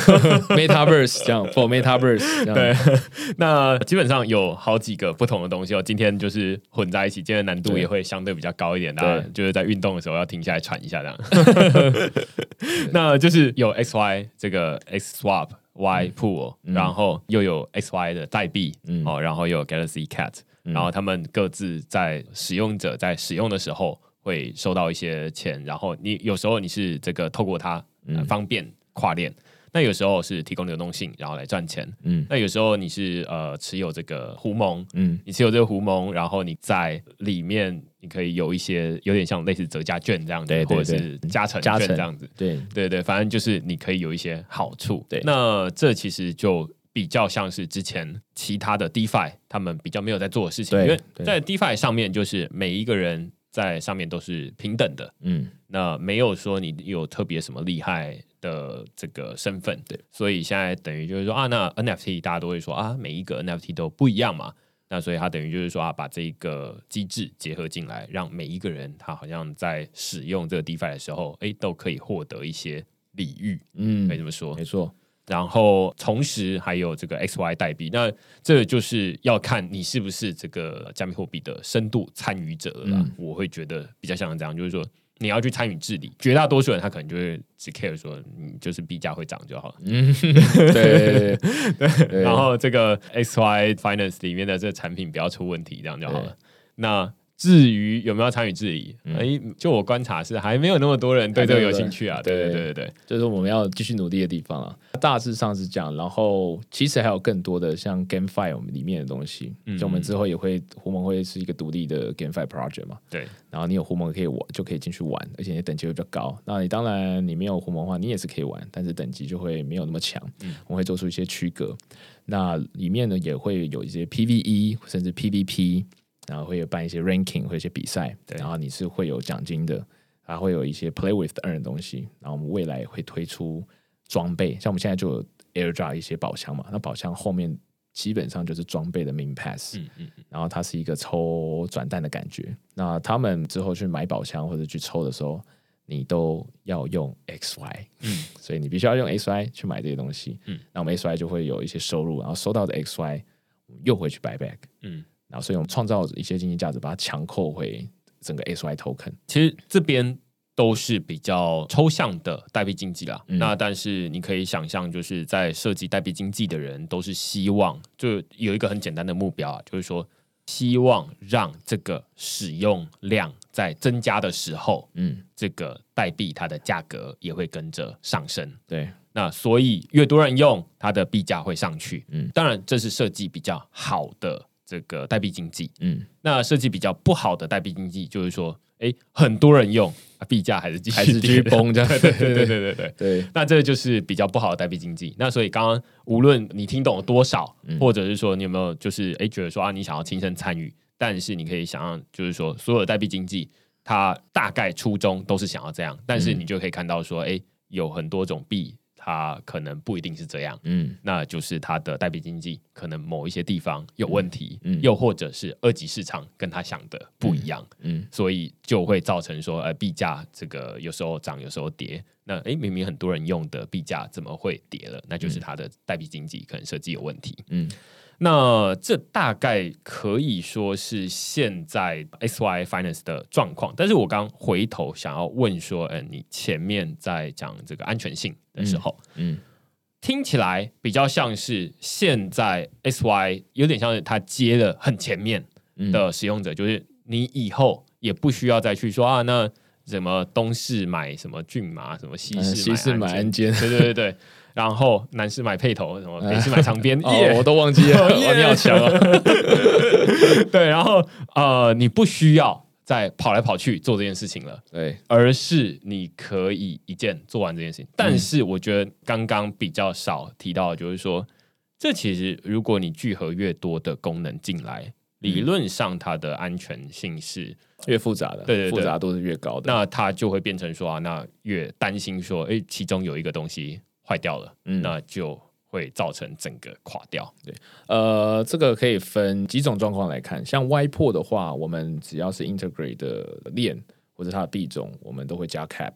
Metaverse 这样 ，for Metaverse 这样。 对，那基本上有好几个不同的东西今天就是混在一起，今天的难度也会相对比较高一点，大家就是在运动的时候要停下来喘一下这样。那就是有 XY 这个 X Swap。Y Pool，然后又有 XY 的代币，然后又有 Galaxy Cat，然后他们各自在使用者在使用的时候会收到一些钱，然后你有时候你是这个透过它方便跨链，那有时候是提供流动性，然后来赚钱。那有时候你是持有这个胡蒙，你持有这个胡蒙，然后你在里面你可以有一些有点像类似折价券这样子，或者是加成券这样子。对，反正就是你可以有一些好处。对，那这其实就比较像是之前其他的 DeFi 他们比较没有在做的事情，因为在 DeFi 上面就是每一个人在上面都是平等的，那没有说你有特别什么厉害的这个身份，对，所以现在等于就是说那 NFT 大家都会说每一个 NFT 都不一样嘛，那所以它等于就是说把这个机制结合进来，让每一个人他好像在使用这个 DeFi 的时候，都可以获得一些礼遇，可以这么说， 没错。 然后同时还有这个 XY 代币，那这就是要看你是不是这个加密货币的深度参与者了啦。我会觉得比较像这样，就是说你要去参与治理，绝大多数人他可能就会只 care 说你就是币价会涨就好了。对。然后这个 XY Finance 里面的这个产品不要出问题，这样就好了。那至于有没有参与治理，就我观察是还没有那么多人对这个有兴趣啊。对， 这是我们要继续努力的地方啊。大致上是这样，然后其实还有更多的像 GameFi 我们里面的东西，就我们之后也会胡蒙会是一个独立的 GameFi project 嘛。 对， 然后你有胡蒙可以玩，就可以进去玩，而且你等级会比较高。那你当然你没有胡蒙的话，你也是可以玩，但是等级就会没有那么强。我们会做出一些区隔。那里面呢也会有一些 PVE 甚至 PVP。然后会有办一些 ranking， 会有一些比赛，然后你是会有奖金的，还会有一些 play with earn 的东西。然后我们未来会推出装备，像我们现在就有 airdrop 一些宝箱嘛，那宝箱后面基本上就是装备的 min pass，然后它是一个抽转蛋的感觉。那他们之后去买宝箱或者去抽的时候，你都要用 XY，所以你必须要用 XY 去买这些东西。那我们 XY 就会有一些收入，然后收到的 XY 又回去 buy back。然后所以我们创造一些经济价值，把它强扣回整个 XY token。 其实这边都是比较抽象的代币经济啦。那但是你可以想象，就是在设计代币经济的人，都是希望就有一个很简单的目标就是说希望让这个使用量在增加的时候，这个代币它的价格也会跟着上升。 对。 那所以越多人用，它的币价会上去。当然这是设计比较好的这个代币经济。那设计比较不好的代币经济就是说很多人用，币价还是继续崩这样。 对，那这就是比较不好的代币经济。那所以刚刚无论你听懂了多少，或者是说你有没有就是觉得说你想要亲身参与，但是你可以想象就是说所有的代币经济它大概初衷都是想要这样，但是你就可以看到说有很多种币它可能不一定是这样，那就是它的代币经济可能某一些地方有问题，又或者是二级市场跟他想的不一样，所以就会造成说币价这个有时候涨有时候跌，那明明很多人用的币价怎么会跌了？那就是它的代币经济可能设计有问题。那这大概可以说是现在 XY Finance 的状况，但是我刚回头想要问说，你前面在讲这个安全性的时候，听起来比较像是现在 XY 有点像是它接了很前面的使用者，就是你以后也不需要再去说那什么东市买什么骏马，什么西市买安监，对。然后南市买配头，什么北市买长边， 我都忘记了，你好强啊！ 对，然后你不需要再跑来跑去做这件事情了， 对， 而是你可以一键做完这件事情。但是我觉得刚刚比较少提到的就是说，这其实如果你聚合越多的功能进来，理论上它的安全性是越复杂的，对，复杂度是越高的。 那它就会变成说那越担心说，其中有一个东西坏掉了，那就会造成整个垮掉。 对，这个可以分几种状况来看。像 YPO 的话，我们只要是 integrate 的链或者它的币种，我们都会加 cap。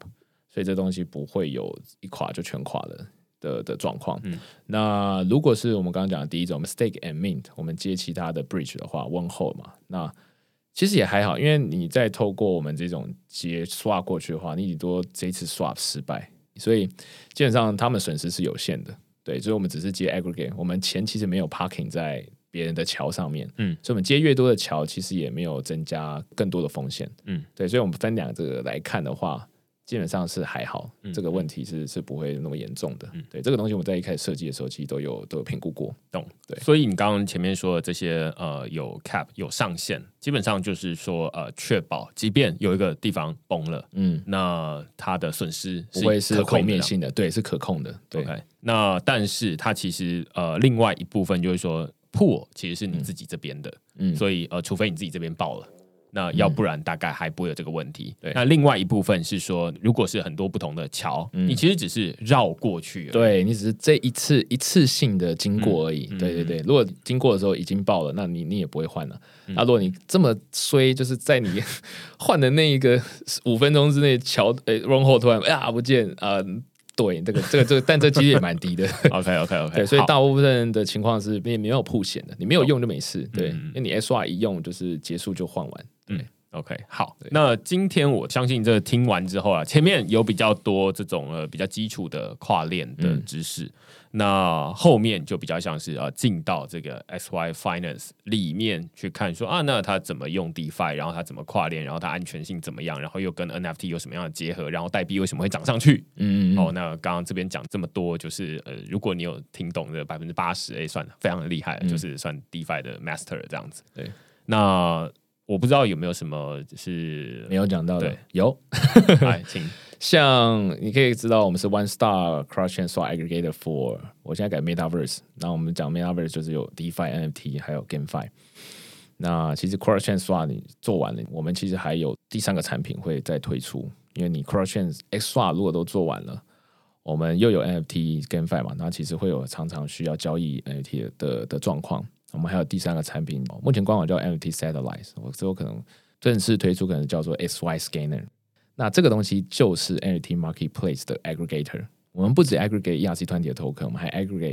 所以这东西不会有一垮就全垮的状况。那如果是我们刚刚讲的第一种 stake and mint， 我们接其他的 bridge 的话，问候嘛，那其实也还好，因为你再透过我们这种接 swap 过去的话，你顶多这一次 swap 失败，所以基本上他们损失是有限的。对，所以我们只是接 aggregate， 我们钱其实没有 parking 在别人的桥上面，所以我们接越多的桥，其实也没有增加更多的风险，对，所以我们分两个来看的话，基本上是还好，这个问题是不会那么严重的，对，这个东西我们在一开始设计的时候，其实都有评估过， 懂， 对， 所以你刚刚前面说的这些有 cap 有上限，基本上就是说确保，即便有一个地方崩了，那它的损失不会是毁灭性的，对，是可控的，对。 Okay， 那但是它其实另外一部分就是说 pool 其实是你自己这边的，所以除非你自己这边爆了。那要不然大概还不会有这个问题。那另外一部分是说，如果是很多不同的桥，你其实只是绕过去而已， 对，你只是这一次性的经过而已。对对对，如果经过的时候已经爆了，那你也不会换了。那如果你这么衰，就是在你换的那一个5分钟之内，桥run 后突然不见对，这个，但这几率也蛮低的。 OK， 对，所以大部分的情况是没有曝险的，你没有用就没事。对，因为你 SR 一用就是结束就换完。对。 OK， 好，那今天我相信这听完之后啊，前面有比较多这种比较基础的跨链的知识，那后面就比较像是进到这个 XY Finance 里面去看说那它怎么用 DeFi， 然后它怎么跨链，然后它安全性怎么样，然后又跟 NFT 有什么样的结合，然后代币为什么会涨上去？那刚刚这边讲这么多，就是如果你有听懂的80%，算非常的厉害，就是算 DeFi 的 Master 这样子。 对， 那我不知道有没有什么是没有讲到的， 对， 有， 来，请。 像你可以知道，我们是 One Star Cross-chain Swap Aggregator for， 我现在改 Metaverse， 那我们讲 Metaverse 就是有 DeFi、NFT 还有 GameFi。那其实 Cross-chain Swap 你做完了，我们其实还有第3个产品会再推出，因为你 Cross-chain X Swap 如果都做完了，我们又有 NFT GameFi 嘛，那其实会有常常需要交易 NFT 的状况。我们还有第3个产品，目前官网叫 NFT Satellite， 我之后可能正式推出，可能叫做 XY Scanner。那这个东西就是 NFT Marketplace 的 aggregator。我们不止 aggregate ERC20 的 token， 我们还 aggregate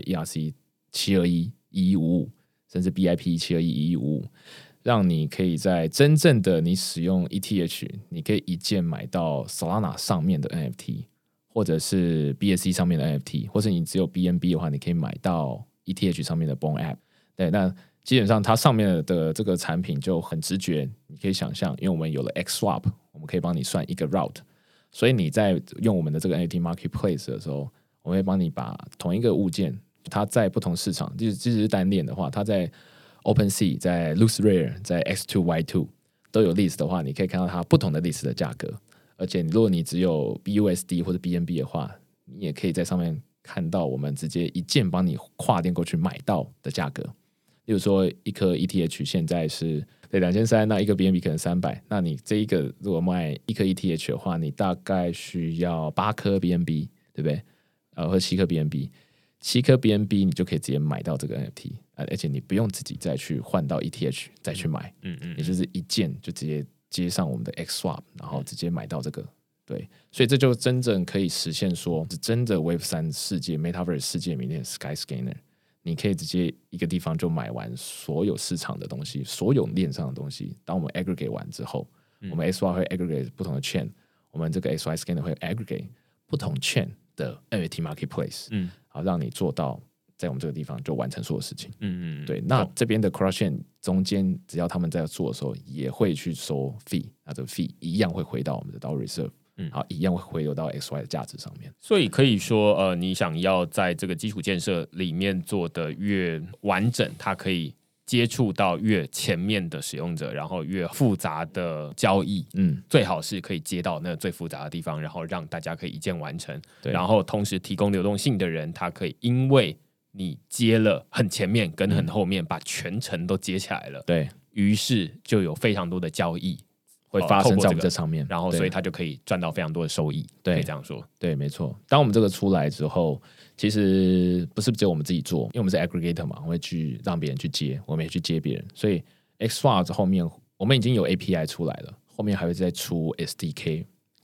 ERC7211155，甚至 BIP 7211155，让你可以在真正的你使用 ETH， 你可以一键买到 Solana 上面的 NFT， 或者是 BSC 上面的 NFT， 或者你只有 BNB 的话，你可以买到 ETH 上面的 Bone App。对，那基本上它上面的这个产品就很直觉，你可以想象，因为我们有了 XSwap， 我们可以帮你算一个 route， 所以你在用我们的这个 NFT Marketplace 的时候，我们会帮你把同一个物件，它在不同市场，即使是单链的话，它在 OpenSea、在 LooksRare、在 X2Y2 都有 list 的话，你可以看到它不同的 list 的价格，而且如果你只有 BUSD 或者 BNB 的话，你也可以在上面看到我们直接一键帮你跨链过去买到的价格。例如说一颗 ETH 现在是2300，那一个 BNB 可能300，那你这一个如果卖一颗 ETH 的话，你大概需要8颗 BNB， 对不对？或者7颗 BNB，7颗 BNB 你就可以直接买到这个 NFT， 而且你不用自己再去换到 ETH 再去买，也就是一键就直接接上我们的 XSwap， 然后直接买到这个。对，所以这就真正可以实现说，是真的 Web3 世界 Metaverse 世界里面的 Skyscanner。你可以直接一个地方就买完所有市场的东西，所有链上的东西。当我们 aggregate 完之后，我们 XY 会 aggregate 不同的 chain， 我们这个 XY Scanner 会 aggregate 不同 chain 的 NFT Marketplace， 好让你做到在我们这个地方就完成所有事情。对。那这边的 Cross Chain 中间，只要他们在做的时候，也会去收 fee， 那这个 fee 一样会回到我们的 DAO Reserve。好，一样会回流到 XY 的价值上面。 所以可以说，你想要在这个基础建设里面做的越完整，它可以接触到越前面的使用者，然后越复杂的交易，最好是可以接到那最复杂的地方，然后让大家可以一键完成。然后同时提供流动性的人，他可以因为你接了很前面跟很后面，把全程都接起来了， 对， 于是就有非常多的交易会发生在我们这上面， 然后所以他就可以赚到非常多的收益，可以这样说。 对，没错。当我们这个出来之后，其实不是只有我们自己做，因为我们是 aggregator 嘛，我会去让别人去接，我们也去接别人。所以 XSwap 后面我们已经有 API 出来了，后面还会再出 SDK，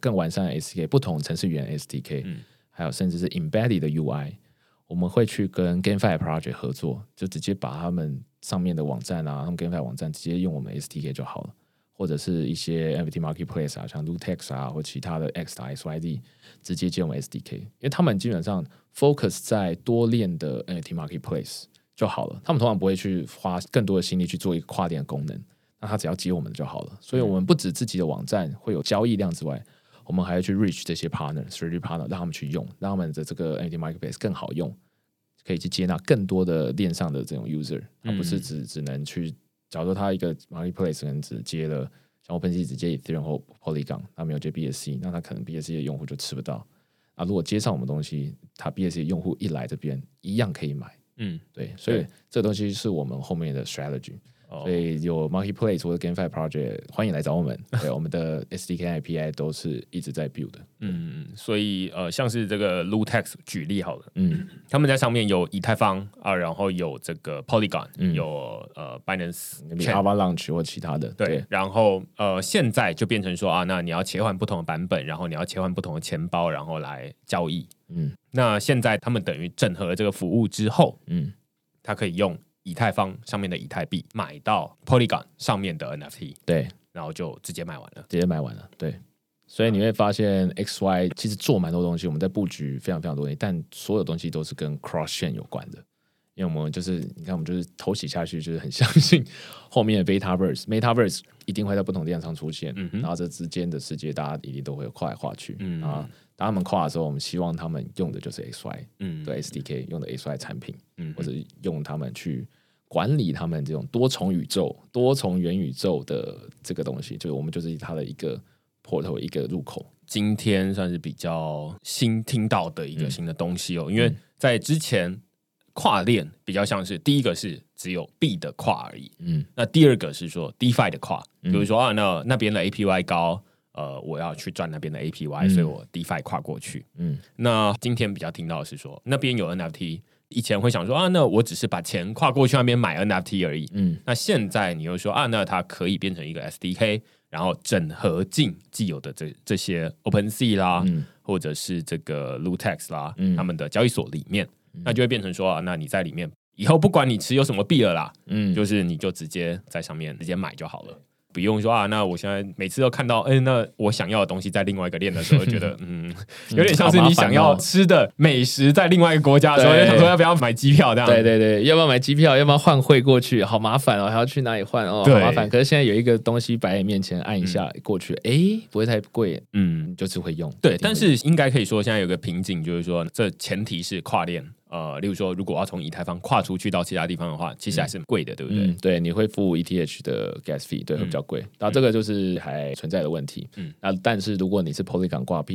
更完善的 SDK， 不同程式语言 SDK，还有甚至是 embedded 的 UI， 我们会去跟 GameFi Project 合作，就直接把他们上面的网站啊，他们 GameFi 网站直接用我们 SDK 就好了。或者是一些 NFT Marketplace 啊，像 Lootex 啊，或其他的 X.XYZ 直接接我们 SDK， 因为他们基本上 focus 在多链的 NFT Marketplace 就好了，他们通常不会去花更多的心力去做一个跨链的功能，那他只要接我们的就好了。所以我们不止自己的网站会有交易量之外，我们还要去 reach 这些 strategy partner， 让他们去用，让他们的这个 NFT Marketplace 更好用，可以去接纳更多的链上的这种 user， 他不是只能去。假如说他一个 marketplace 可能只接了像 OpenSea 只接 Ethereum 或 Polygon， 他没有接 BSC， 那他可能 BSC 的用户就吃不到。啊，如果接上我们东西，他 BSC 的用户一来这边一样可以买。对，所以这个东西是我们后面的 strategy。所以有 marketplace 或者 GameFi project 欢迎来找我们，对，我们的 SDK API 都是一直在 build 的。 所以像是这个 Lootex 举例好了，他们在上面有以太坊啊，然后有这个 Polygon，有Binance Avalanche 或其他的， 对，然后现在就变成说啊，那你要切换不同的版本，然后你要切换不同的钱包，然后来交易。那现在他们等于整合了这个服务之后，它可以用以太坊上面的以太币买到 Polygon 上面的 NFT， 对， 然后就直接买完了， 对。所以你会发现 XY 其实做蛮多东西，我们在布局非常非常多东西，但所有东西都是跟 cross chain 有关的，因为我们就是你看我们就是头洗下去，就是很相信后面的 Metaverse 一定会在不同地方上出现，然后这之间的世界大家一定都会跨来跨去，当他们跨的时候，我们希望他们用的就是 XY 的 SDK， 用的 XY 产品，或者用他们去管理他们这种多重宇宙、多重元宇宙的这个东西，就是我们就是它的一个 portal 一个入口。 今天算是比较新听到的一个新的东西哦，因为在之前跨链比较像是第一个是只有币的跨而已，那第二个是说 DeFi 的跨，比如说那边的 APY 高。我要去赚那边的 APY，所以我 DeFi 跨过去。那今天比较听到的是说，那边有 NFT， 以前会想说那我只是把钱跨过去那边买 NFT 而已。那现在你又说那它可以变成一个 SDK， 然后整合进既有的这些 OpenSea 啦，或者是这个 Lootex 啦，他们的交易所里面，那就会变成说那你在里面以后不管你持有什么币了啦，就是你就直接在上面直接买就好了。不用说那我现在每次都看到那我想要的东西在另外一个链的时候，觉得有点像是你想要吃的美食在另外一个国家的时候，就想说要不要买机票这样。 对，要不要买机票，要不要换汇过去，好麻烦哦，还要去哪里换好麻烦。可是现在有一个东西摆在你面前，按一下过去，不会太贵，就是会用。 对，但是应该可以说现在有个瓶颈，就是说这前提是跨链。例如说，如果要从以太坊跨出去到其他地方的话，其实还是贵的，对不对？ 对，你会付 ETH 的 gas fee， 对，会比较贵。然后这个就是还存在的问题。那但是如果你是 Polygon 挂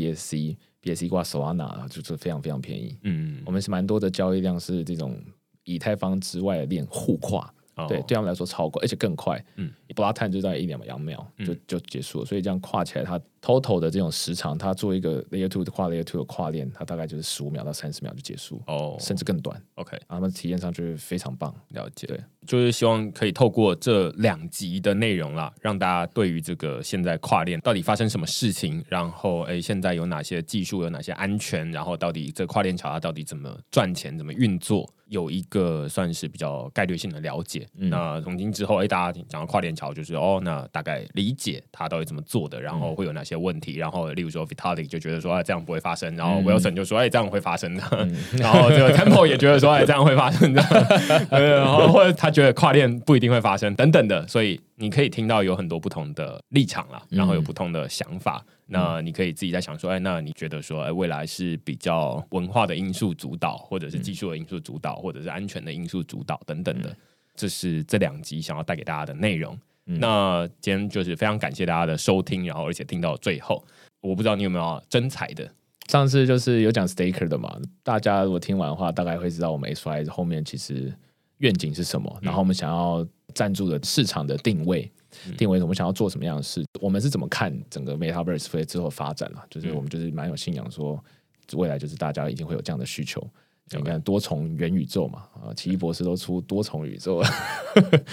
BSC 挂 Solana， 就是非常非常便宜。我们是蛮多的交易量是这种以太坊之外的链互跨。对他们来说超快，而且更快。block time 就在1-2秒就结束了，所以这样跨起来，它 total 的这种时长，它做一个 layer 2的跨 layer 2的跨链，它大概就是15秒到30秒就结束，甚至更短。 OK， 他们体验上就是非常棒。 了解， 对， 就是希望可以透过这2集的内容啦，让大家对于这个现在跨链到底发生什么事情，然后现在有哪些技术，有哪些安全，然后到底这跨链桥它到底怎么赚钱，怎么运作，有一个算是比较概略性的了解。那从今之后，大家讲到跨链桥，就是那大概理解它到底怎么做的，然后会有哪些问题，然后例如说 Vitalik 就觉得说这样不会发生，然后 Wilson 就说这样会发生的，然后这个 Temple 也觉得说这样会发生的，然后或者他觉得跨链不一定会发生等等的，所以你可以听到有很多不同的立场啦，然后有不同的想法。那你可以自己在想说，那你觉得说，未来是比较文化的因素主导，或者是技术的因素主导，或者是安全的因素主导等等的，这是这2集想要带给大家的内容。那今天就是非常感谢大家的收听，然后而且听到最后，我不知道你有没有真彩的。 上次就是有讲 Staker 的嘛，大家如果听完的话，大概会知道我们 XY 后面其实愿景是什么，然后我们想要赞助的市场的定位我们想要做什么样的事，我们是怎么看整个 Metaverse 之后发展就是我们就是蛮有信仰说未来就是大家一定会有这样的需求。你看多重元宇宙嘛，奇异博士都出多重宇宙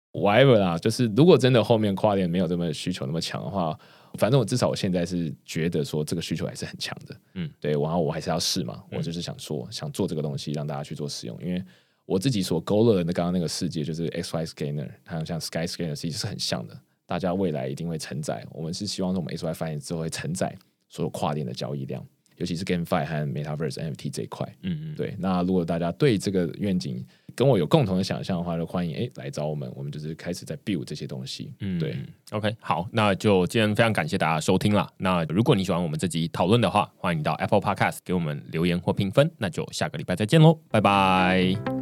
whatever 啦，就是如果真的后面跨链没有这么需求那么强的话，反正至少我现在是觉得说这个需求还是很强的，对，然后我还是要试嘛，我就是想做这个东西让大家去做使用，因为我自己所勾勒的刚刚那个世界就是 XY Scanner， 还有像 Sky Scanner 其实是很像的，大家未来一定会承载，我们是希望说我们 XY 发展之后会承载所有跨链的交易量，尤其是 GameFi 和 Metaverse NFT 这一块，对，那如果大家对这个愿景跟我有共同的想象的话，就欢迎来找我们，我们就是开始在 build 这些东西。对 ，OK， 好，那就今天非常感谢大家收听啦。那如果你喜欢我们这集讨论的话，欢迎你到 Apple Podcast 给我们留言或评分。那就下个礼拜再见喽，拜拜。